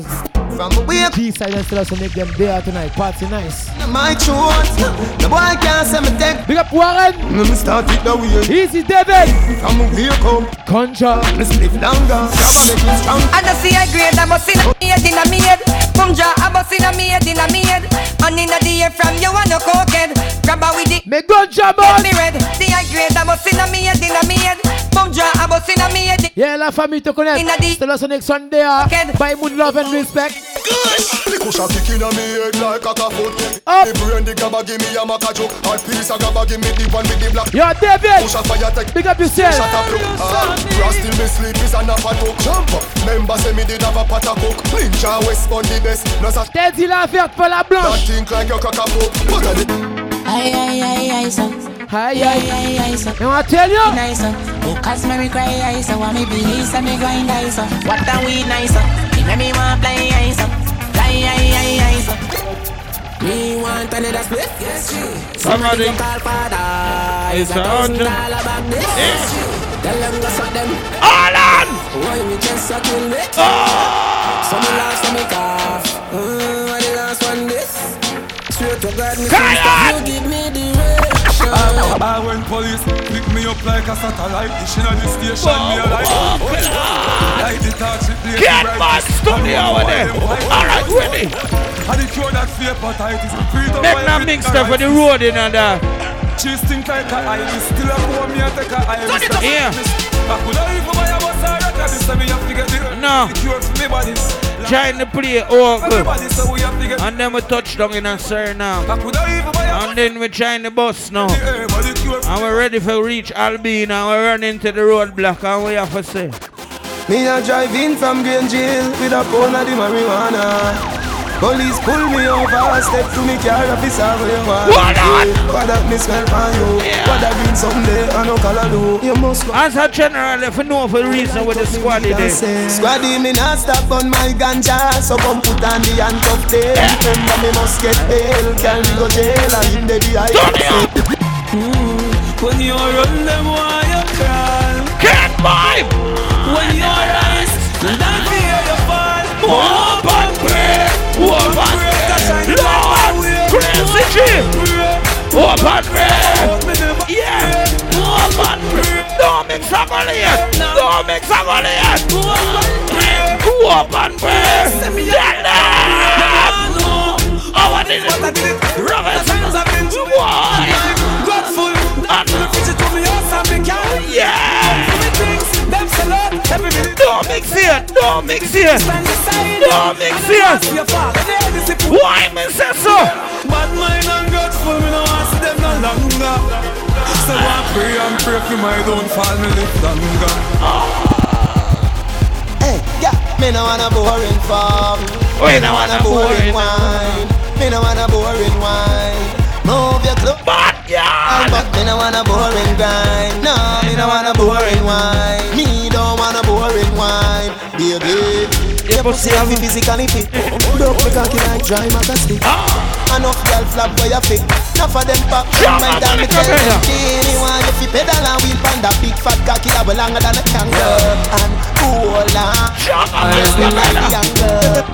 G-side and still also make them there tonight. Party nice. My choice, the boy can't say me take. Big up Warren. Me start it the way. Easy David. From here come Contra. Me split longer. Strong. And I see a grade, I must in a maid in a maid. From Jah, I must in a maid in a maid. And in a day from you and no cokehead. Grab a with it. Me Contra boss. Me red. See a grade, I must in a maid in a maid. From Jah, I must in a maid. Yeah, la famille te connaît. Still also next Sunday. By mood love and respect. Good. The cushion kicking on me head like a foot. Up. The brain the gabba give me a maca joke. Hard piece of gabba give me the one with the black. Yo, David. Push a fire take. Big up yourself. Shut up, look. Ah, Ross still me sleep is an apple talk. Jump up. Member say me did have a pot of coke. Ninja West on the best. No such. T'es dit la verte pour la blanche. That think like your cock a poke. What are the? Aye aye aye aye so. Aye aye aye aye so. You want to tell you? Nice so. Oh, cause me cry aye so. Want me be so me grind aye so. What a we nice so. Make me want play aye so. Aye, aye, aye, aye, so. Me want another split? Yes, she. Somebody call father. It's a hundred. All about this. Tell them go suck them. All on! Why me just a kill it? Oh! So me last, so me cough. Mm, what the last one this? Swear to God, me Kyle! you give me direction. I, I when police pick me up like a satellite. Dish in the station, me a light. Light the torch, it blaze Get bright. my studio with them. Alright, ready. I the cure that fear hepatitis. Make that mix stuff with the road in and there. Cheese think like a iris. Still a pour me a take a iris. Yeah. I could have even buy a bus or a car. This time me have to get the No. cure for me bodies. Trying to play all good. Everybody so we have to get. And then we touch down in a Suriname. I could have even buy a. And then we trying the bus now. And we're ready for reach Albina. And we run into the roadblock and we have to say. Me a drive in from Green Jail with a pound of the marijuana. Police pull me over, step to me car, officer, where you want. What on? What that me smell on you? Yeah. What that been someday, I no color do. You must go. As a general, if you know for reason with the squaddy there. Squaddy, me not stop on my ganja, so come put on the handcuff tail. Remember me must get bail, can me go jail, and in the D I When you run them, why you cry? Can't vibe! When you rise, don't fear your fall. More bad break! More bad break! Lord! Crazy shit! More bad break! Yeah! More bad break! Don't mix up on it! Don't mix up on it! More bad break! Get down! Oh, I did it! Robinson! Why? Grateful! Yeah! Don't mix it! Don't mix it! Don't mix it! Why me say so? Bad mind and grateful, me no want see them no longer. So I pray and pray for my downfall, me live longer. Hey, yeah, me no want a boring farm. We no want a boring wine. Me no want a boring wine. Move your clothes. But yeah. But me no want a boring grind. No, me no want a boring wine. Me don't want a boring wine. Baby, you pussy have me physically fit. Don't me cocky like dry maca stick. Enough girl flap where you fit. Enough of them pop from my time. Me tell them me want you fi pedal and wheel pan that big fat cocky that way longer than a kangaroo. And cool on. Shut up, younger.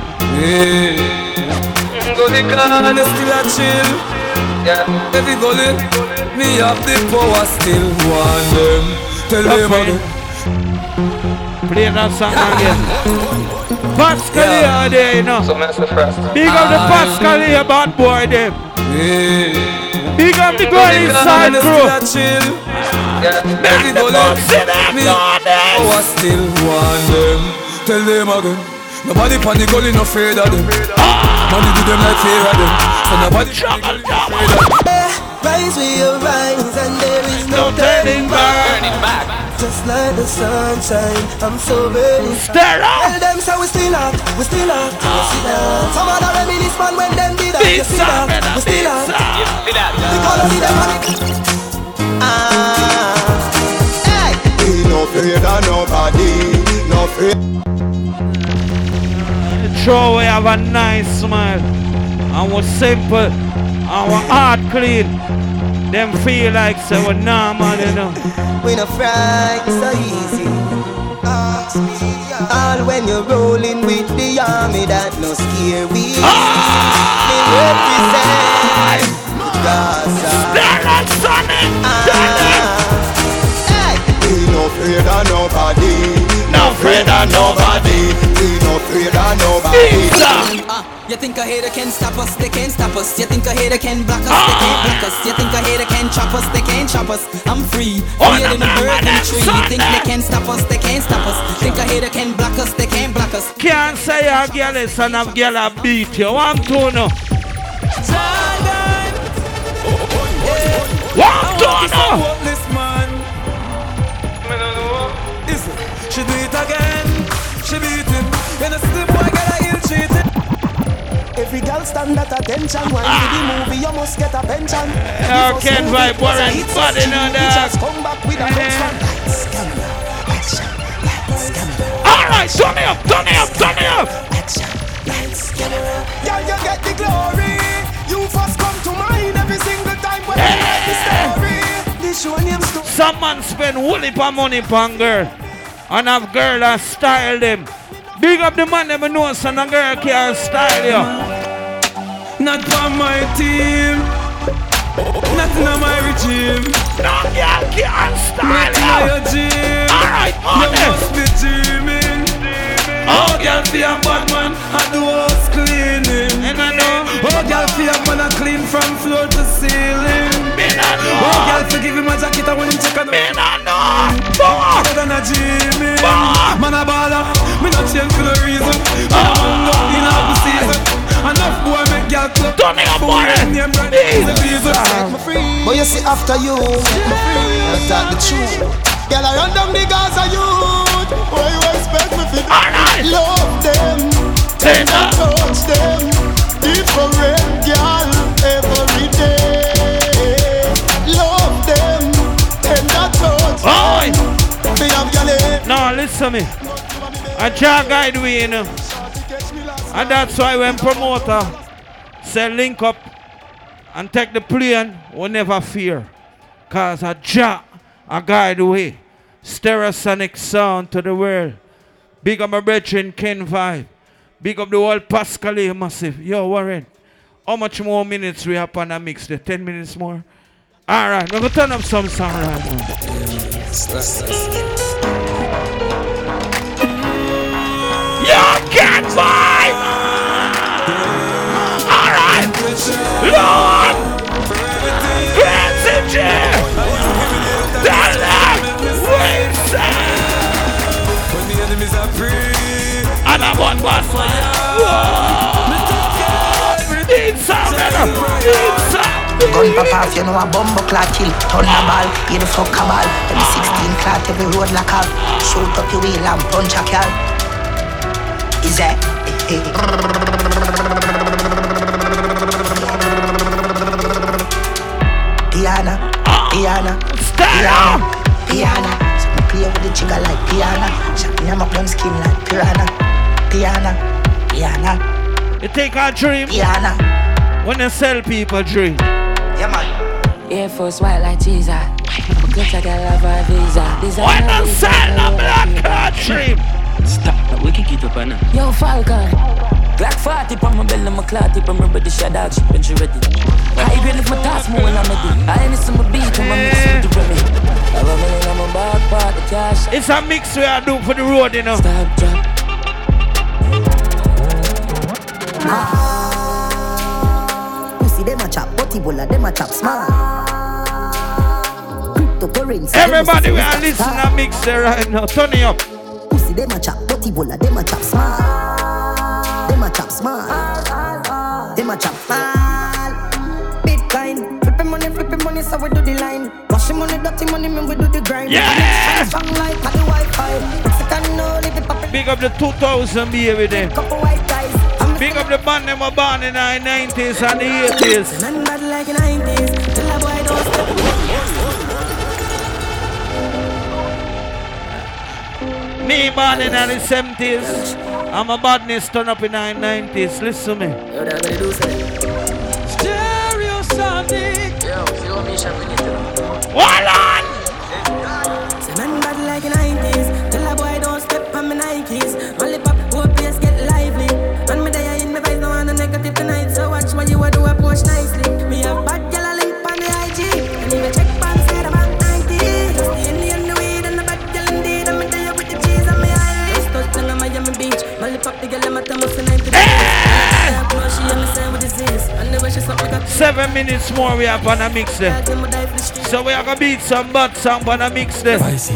Go the car and still a chill. Yeah, every gully, me have the power still. Want them, tell them again. Play that song again. Pascal here there, you know. So mess the first. Big up the Pascal here, bad boy them. Big up the girl inside crew. Yeah, every gully, me power still. Want them, tell them again. Nobody panic, gully no afraid of them. Money do them like fear of them. So nobody panic, gully no afraid of them. Rise with your rise and there is no, No turning back. Just like the sunshine, I'm so very Stare up. Tell them so we still up, we still up, we still up. Some other reminisce man when them did that. You see that, we still up. Because of them money. Ah, hey. We no afraid of nobody, no afraid. Sure, we have a nice smile. and we're simple, our heart clean. Them feel like so we're normal, you know. We no fright so easy. All when you're rolling with the army that no scare we. We represent Gaza. Hey, we no afraid of nobody. No afraid of nobody. We no afraid of nobody. Uh, you think a hater can stop us? They can't stop us. You think a hater can block us? They can't block us. You think a hater can chop us? They can't chop us. I'm free, freer than a bird in a tree. You think they can stop us? They can't stop us. Think a hater can block us? They can't block us. Can't say a girl is son of girl a beat you. One two no. One two no. She do it again, she beat him. When a slip boy get a ill treated. Every girl stand at attention. When you do the movie, you must get a pension. You can't vibe Warren body no dog. Come back with a function. Lights, camera, action. Lights, camera. Alright, turn it up, turn it up, turn it up. Action, lights, camera. Girl, you get the glory. You first come to mind every single time when you write the story. This show name's to. Some man spend whole heap of money on girl. And have girl that style them. Big up the man them know son a girl can style you. Not for my team. Not in my regime. No girl can style you. Not in your gym. Alright, you must be dreaming. Oh, girl be a bad man and do house cleaning. And I know. Oh, girl be a man a clean from floor to ceiling. Me not know. Oh, girl forgive him a jacket and when him check on. Me not know. Fuck. Better than a Jimmy. Man a baller. Me not change for no reason. Man a hung up in half the season. Enough boy make girl club. Don't make a boy. But you see after you, I talk the truth. Girl I run down the Gaza youth. What you expect me to do? Love them, tender touch them. Different girl every day. Love them, tender touch them. No, listen to me. A jar guide we, you know. And that's why when promoter say link up and take the plane, we never fear. Cause a jar a guide way. Stereosonic sound to the world. Big up my brethren Ken Vibe. Big up the whole Pascal Massive. Yo, Warren. How much more minutes we have on the mix? The ten minutes more? Alright, we're gonna turn up some sound right now. You can't vibe! Alright! Lord! Crazy J! When the enemies are free and I'm on boss. Need some, need some. Gun pop off, you know a bumbo clock kill. Turn the ball, you the fuck a ball. Every sixteen clock, every road lock up. Shoot up your wheel and punch a car. Is that? Piano, piano, piano, piano. So me play with the jigger like piano. Shot me up them skin like piranha. Piano, piano. You take a dream. Piano. When you sell people dream. Yeah man. Air Force white like Jesus. Because I got love a visa. When you sell a black card dream. Stop, we can get up on now. Yo Falcon. Glock forty on my belly, my clot tip, I'm ready to shut out, she when she ready. I agree if my task more when I'm ready. I ain't some beat when I'm mixing with the Remy. Have a million on my back part, the cash. It's a mix we are doing for the road, you know. Stop, drop. Pussy, them a chop, butty bola, them a chop small. Cryptocurrency. Everybody we are listening to mix there right now, turn it up. Pussy, them a chop, butty bola, them a chop small. Them a chop small. Them a chop small. Bitcoin, flipping money, flipping money, so we do the line. Washing money, dirty money, man, we do the grind. Yeah! Strong like the Wi-Fi. Mexican, no, live it poppin'. Big up the two thousand baby there. Couple white guys. Big up the band them were born in the nineties and the eighties. Man bad like the nineties. Till a boy don't step. Me born in the seventies. I'm a badness turn up in the nineties. Listen to me. Yo, that's what they do, say. Hold on! Say man bad like the nineties. Tell a boy don't step on my Nikes. Only pop, whole place get lively. And me there in my vibes, no one negative tonight. So watch what you a do, approach nicely. Me have bad girl a link on the I G. And even check pan side about ninety. Just the Indian the weed and the bad girl indeed. And me there with the cheese and me Irish. Just touch down on Miami Beach. Only pop the girl I'm at the most ninety. She understand what this is. And the way she suck like a Seven minutes more we have on a mix there. So we are gonna beat some butt song on a mix there. I see.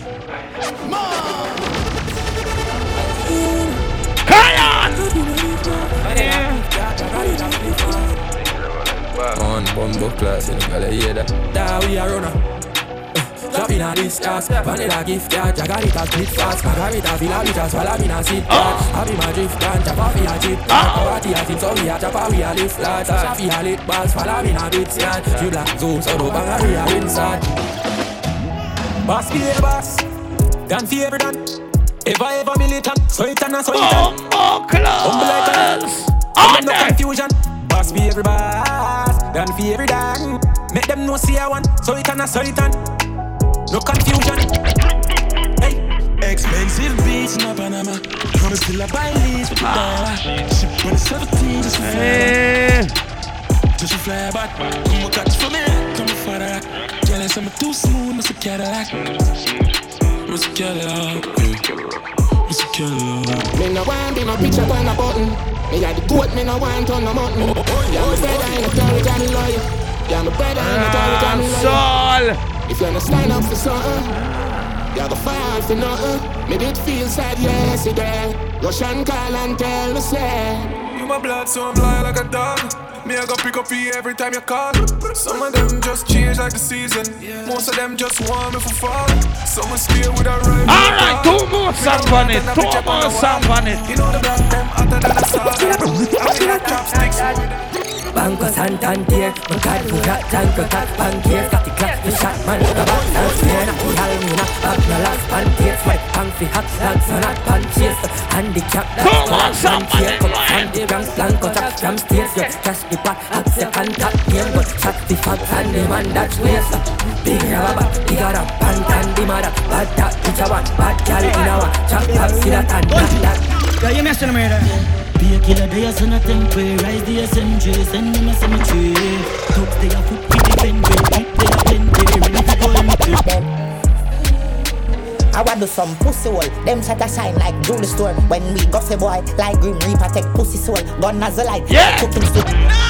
On bumbo class in the hear that. That we are runner. Drop in a this task, vanilla gift card, Jagarita split fast, Margarita villa we just swallow in a seat card. Happy my drift can, chopper we a chip card, Party a team so we a chopper we a lift flat, Shafi a lit balls, follow in a bit yard. You black zoom so do bang a we a inside. Boss be a boss, done for every done. Ever ever militant, so it and a so it and. Oh, close! Oh, no confusion. Boss be every boss, done for every done. Make them know see I want, so it and a so it and. No confusion. Hey. Expensive beats in Panama. Promise till I buy leads with the dollar. Ship when it's seventeen, just for fly. Just for fly back. Come on, catch for me. Come on, for that. Jealous, I'm too smooth, Mister Cadillac. Mister Cadillac. Mister Cadillac. Me no want be no picture on a button. Me got the goat, me no want on the mountain. Yeah, my brother in the carriage and loyal. Yeah, my brother in the carriage and loyal. If you're not stand up for something, you're gonna fall for nothing. Me did feel sad yesterday. Russian call and tell me say you my blood, so I'm loyal like a dog. Me I go pick up you every time you call. Some of them just change like the season. Most of them just want me for fall. Some will stay with a rhyme. Alright, two more songs on it. Two more songs on it. You know the black them hotter than a salt. I'm in a chopsticks. Banco Santander, my card for that tank, cut bankiers, got the class, the shot man, the box, and spin up the Almina, up the last pantiers, my punk for hot dogs, and hot punches, handicap, that's all pantier, come on, the ranks, blanco, trap, jam stairs, yeah, cash the pot, hot second, top game, but shot the fox, and the man that's waste, big rubber, big got a pantan, the mother, bad that, bitch, I want, bad gal, in our, chop, chop, see that, and that, yeah, you messing me there. Be a killer, they are son of temporary. Rise the S M J, send them a cemetery. Talks they are foot with the vendor. Keep they are plenty, ready to go in the I want do some pussy hole. Them set a shine like jewelry store. When we go say boy, like Green Reaper take pussy soul. Gun as a light, yeah. Cooking soup.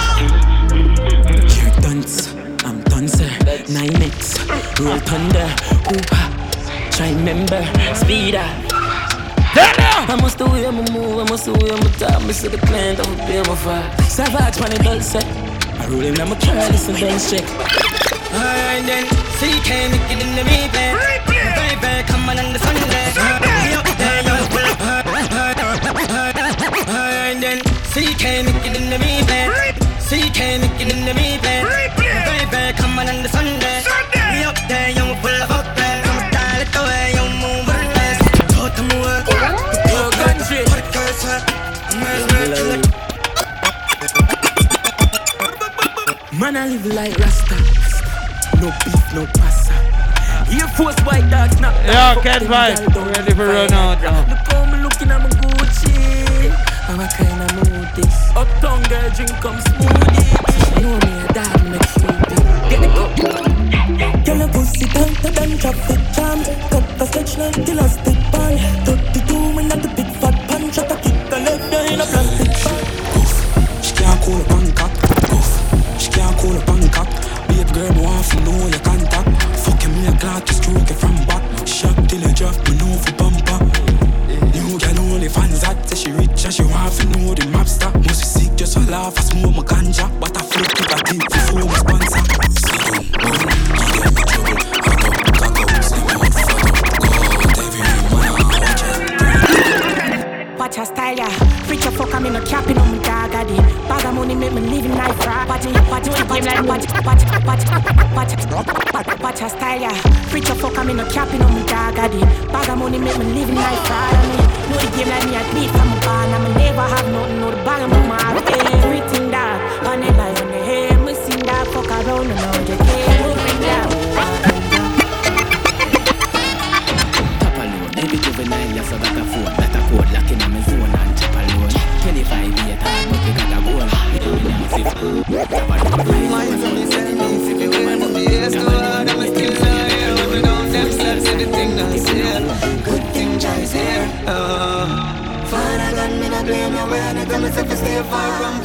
Jerk dance, I'm done sir. Nine mix, roll thunder. Ooh, try remember, speed up. I must do it, I'ma move, I must do it, I'ma talk. Me see the plant, I'ma be my fire. Savage when it does set. I roll him, I'ma try this and then check. Alright then, C K make it in the replay. Baby, come on on the Sunday. Me up there, yo. Alright then, C K make it in the replay. C K make it in the replay. Baby, come on on the Sunday. Me up there, yo, full of up there. I'ma style it the way you move it. Go to move. Man, I live like Rasta. No beef, no pasta. Air Force white dogs, not yeah, can't fight. Ready for run out now. Look how me looking at my Gucci. I'm a kind of mood this. Uptown girl drink come smoothie. You know me a dad make sleepy. Get it up. Girl a pussy tighter than traffic jam. Cut the stretch like elastic band. thirty-two when at the big fat pan. Shot a kick the left there in a plastic bag. She can't call a Bangkok. She can't call a Bangkok. Babe girl, me want to know your contact. Fucking me a clock, you stroke it from back. Shot till you drop me know for bumper. New girl only fans that say she rich and she want to know the map stop. Must be sick just for laugh, I smoke my ganja. But I flip to the team before my sponsor. Watch her style, yeah. Freak your fuck, I'm in a capping on my dog, I did. Bag of money make me live in life, right? Watch it, watch it, watch it, watch it, watch it, watch it, watch it, watch her style, yeah. Freak your fuck, I'm in a capping on my dog, I did. Bag of money make me live in life, right? I mean, know the game like me, I beat from my barn. I'ma never have nothing, know the bag of my mark. Everything that, on the line, on the hair, me sing that fuck around and all the day.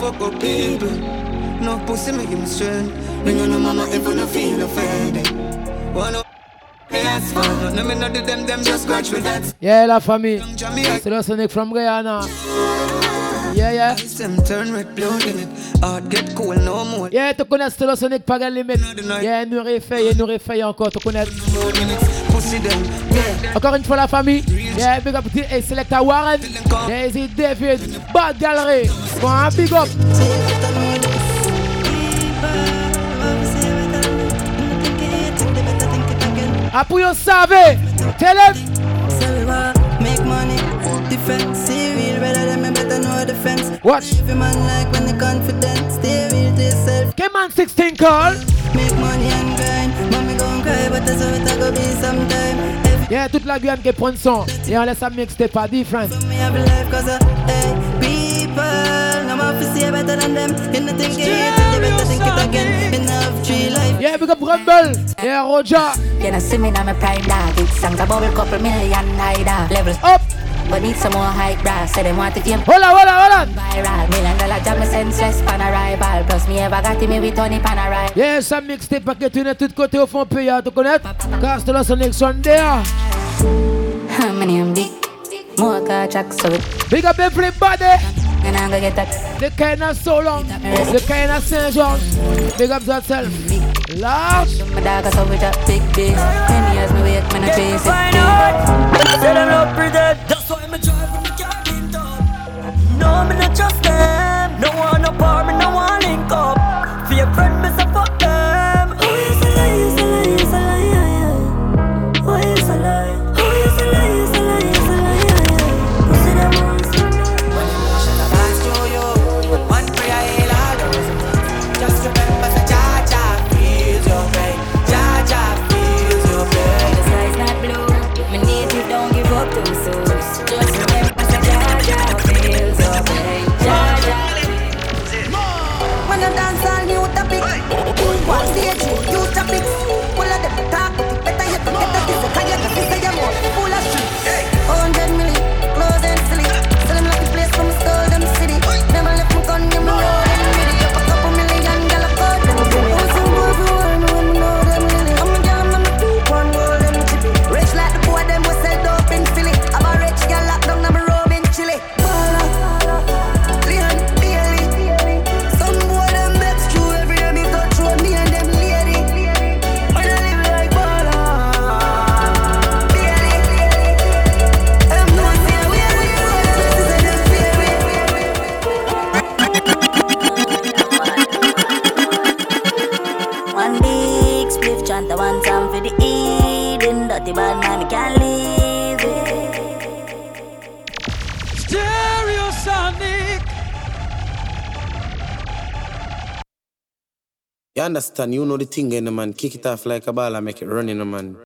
fuck up people. No pussy make him strength. Bring on no mama if you no feel offended. One yes, fun. No me not do them, them just scratch me that. Yeah, la famille. C'est le Sonic from Guyana. Yeah, yeah. Turn red, blue in it. Heart get cool, no more. Yeah, tu connais Stella Sonic pas de limite. Yeah, nous refait, nous refait encore, tu connais. Encore une fois la famille. Yeah, big up to hey, Selecta Warren. Yeah, is it David, Bad Gallery. Go on, big up. Après vous savez, tell them. Make money, defense, stay real, rather than me better know defense. Watch. Every man like when they confident, stay real to yourself. Come on, sixteen call. Make money and grind, mommy gon' cry, but that's how it go be sometime. Yeah, toute la Guyane qui prend son. Et on laisse ça mixer pas different. Me have a life cause of, hey, people, I'm off to see better than them. In the thinking, they better think it again. In the tree life. Yeah, big up Rumble. Yeah, Roger. You know, see me now, my prime dog. It's songs about a couple million higher levels up. But need some more hype, bruh. Say them want to game. Hold on, hold on, hold on. Viral. Million dollar job, me senseless pan arrival. Plus me ever got me with Tony pan arrival. Yeah, ça mixtape pas que tu n'es tout côté au fond payé, tu connais? Car c'est là son élection there. How many am big? More car tracks so it. Big up everybody. And I'm gonna get that. The kind of so long. The kind of Saint George. Big up yourself. Large. My dog is over that big big. Ten years me wake, man I chase it. Say them not pretend. That's why me drive when me can't get up. No, me not trust them. No one no power, me no one link up. For your friend, me say fuck them. Oh, you say lie, you say lie, you say lie, yeah, yeah. Oh, you say lie. Oh, you say lie, you say lie, you say lie, yeah, yeah. You see them all. When emotion a pass through you, one prayer heal all those. Just remember the Jah Jah feels your pain. Jah Jah feels your pain. The sky's not blue. Me need you, don't give up too soon. Just remember the Jah Jah feels your pain. Jah Jah. When I dance all new topic, one stage new topic. Full of them talk, better you to get a kiss. Cause you can say you're more full of shit. Hundred million, close and silly. Sell them like the place from stole them city. Never left my gun, you know them really. Up a couple million, girl, I got them city. Oh, some boys who want to know them really. I'm a girl, I'm a two, one golden chippy. Rich like the boy, them was sell dope in Philly. I'm a rich girl, locked down, I'm a robe in Chile. Bala, Leon, Bailey. Some boy, them bets true every day me go through me and them lady. When I live like Bala, Bailey. I'm not saying we are really One big spliff chant, one time for the Eden. Dirty bad man, me can't leave it. Stereo Sonic. You understand, you know the thing in the man. Kick it off like a ball and make it run in the man.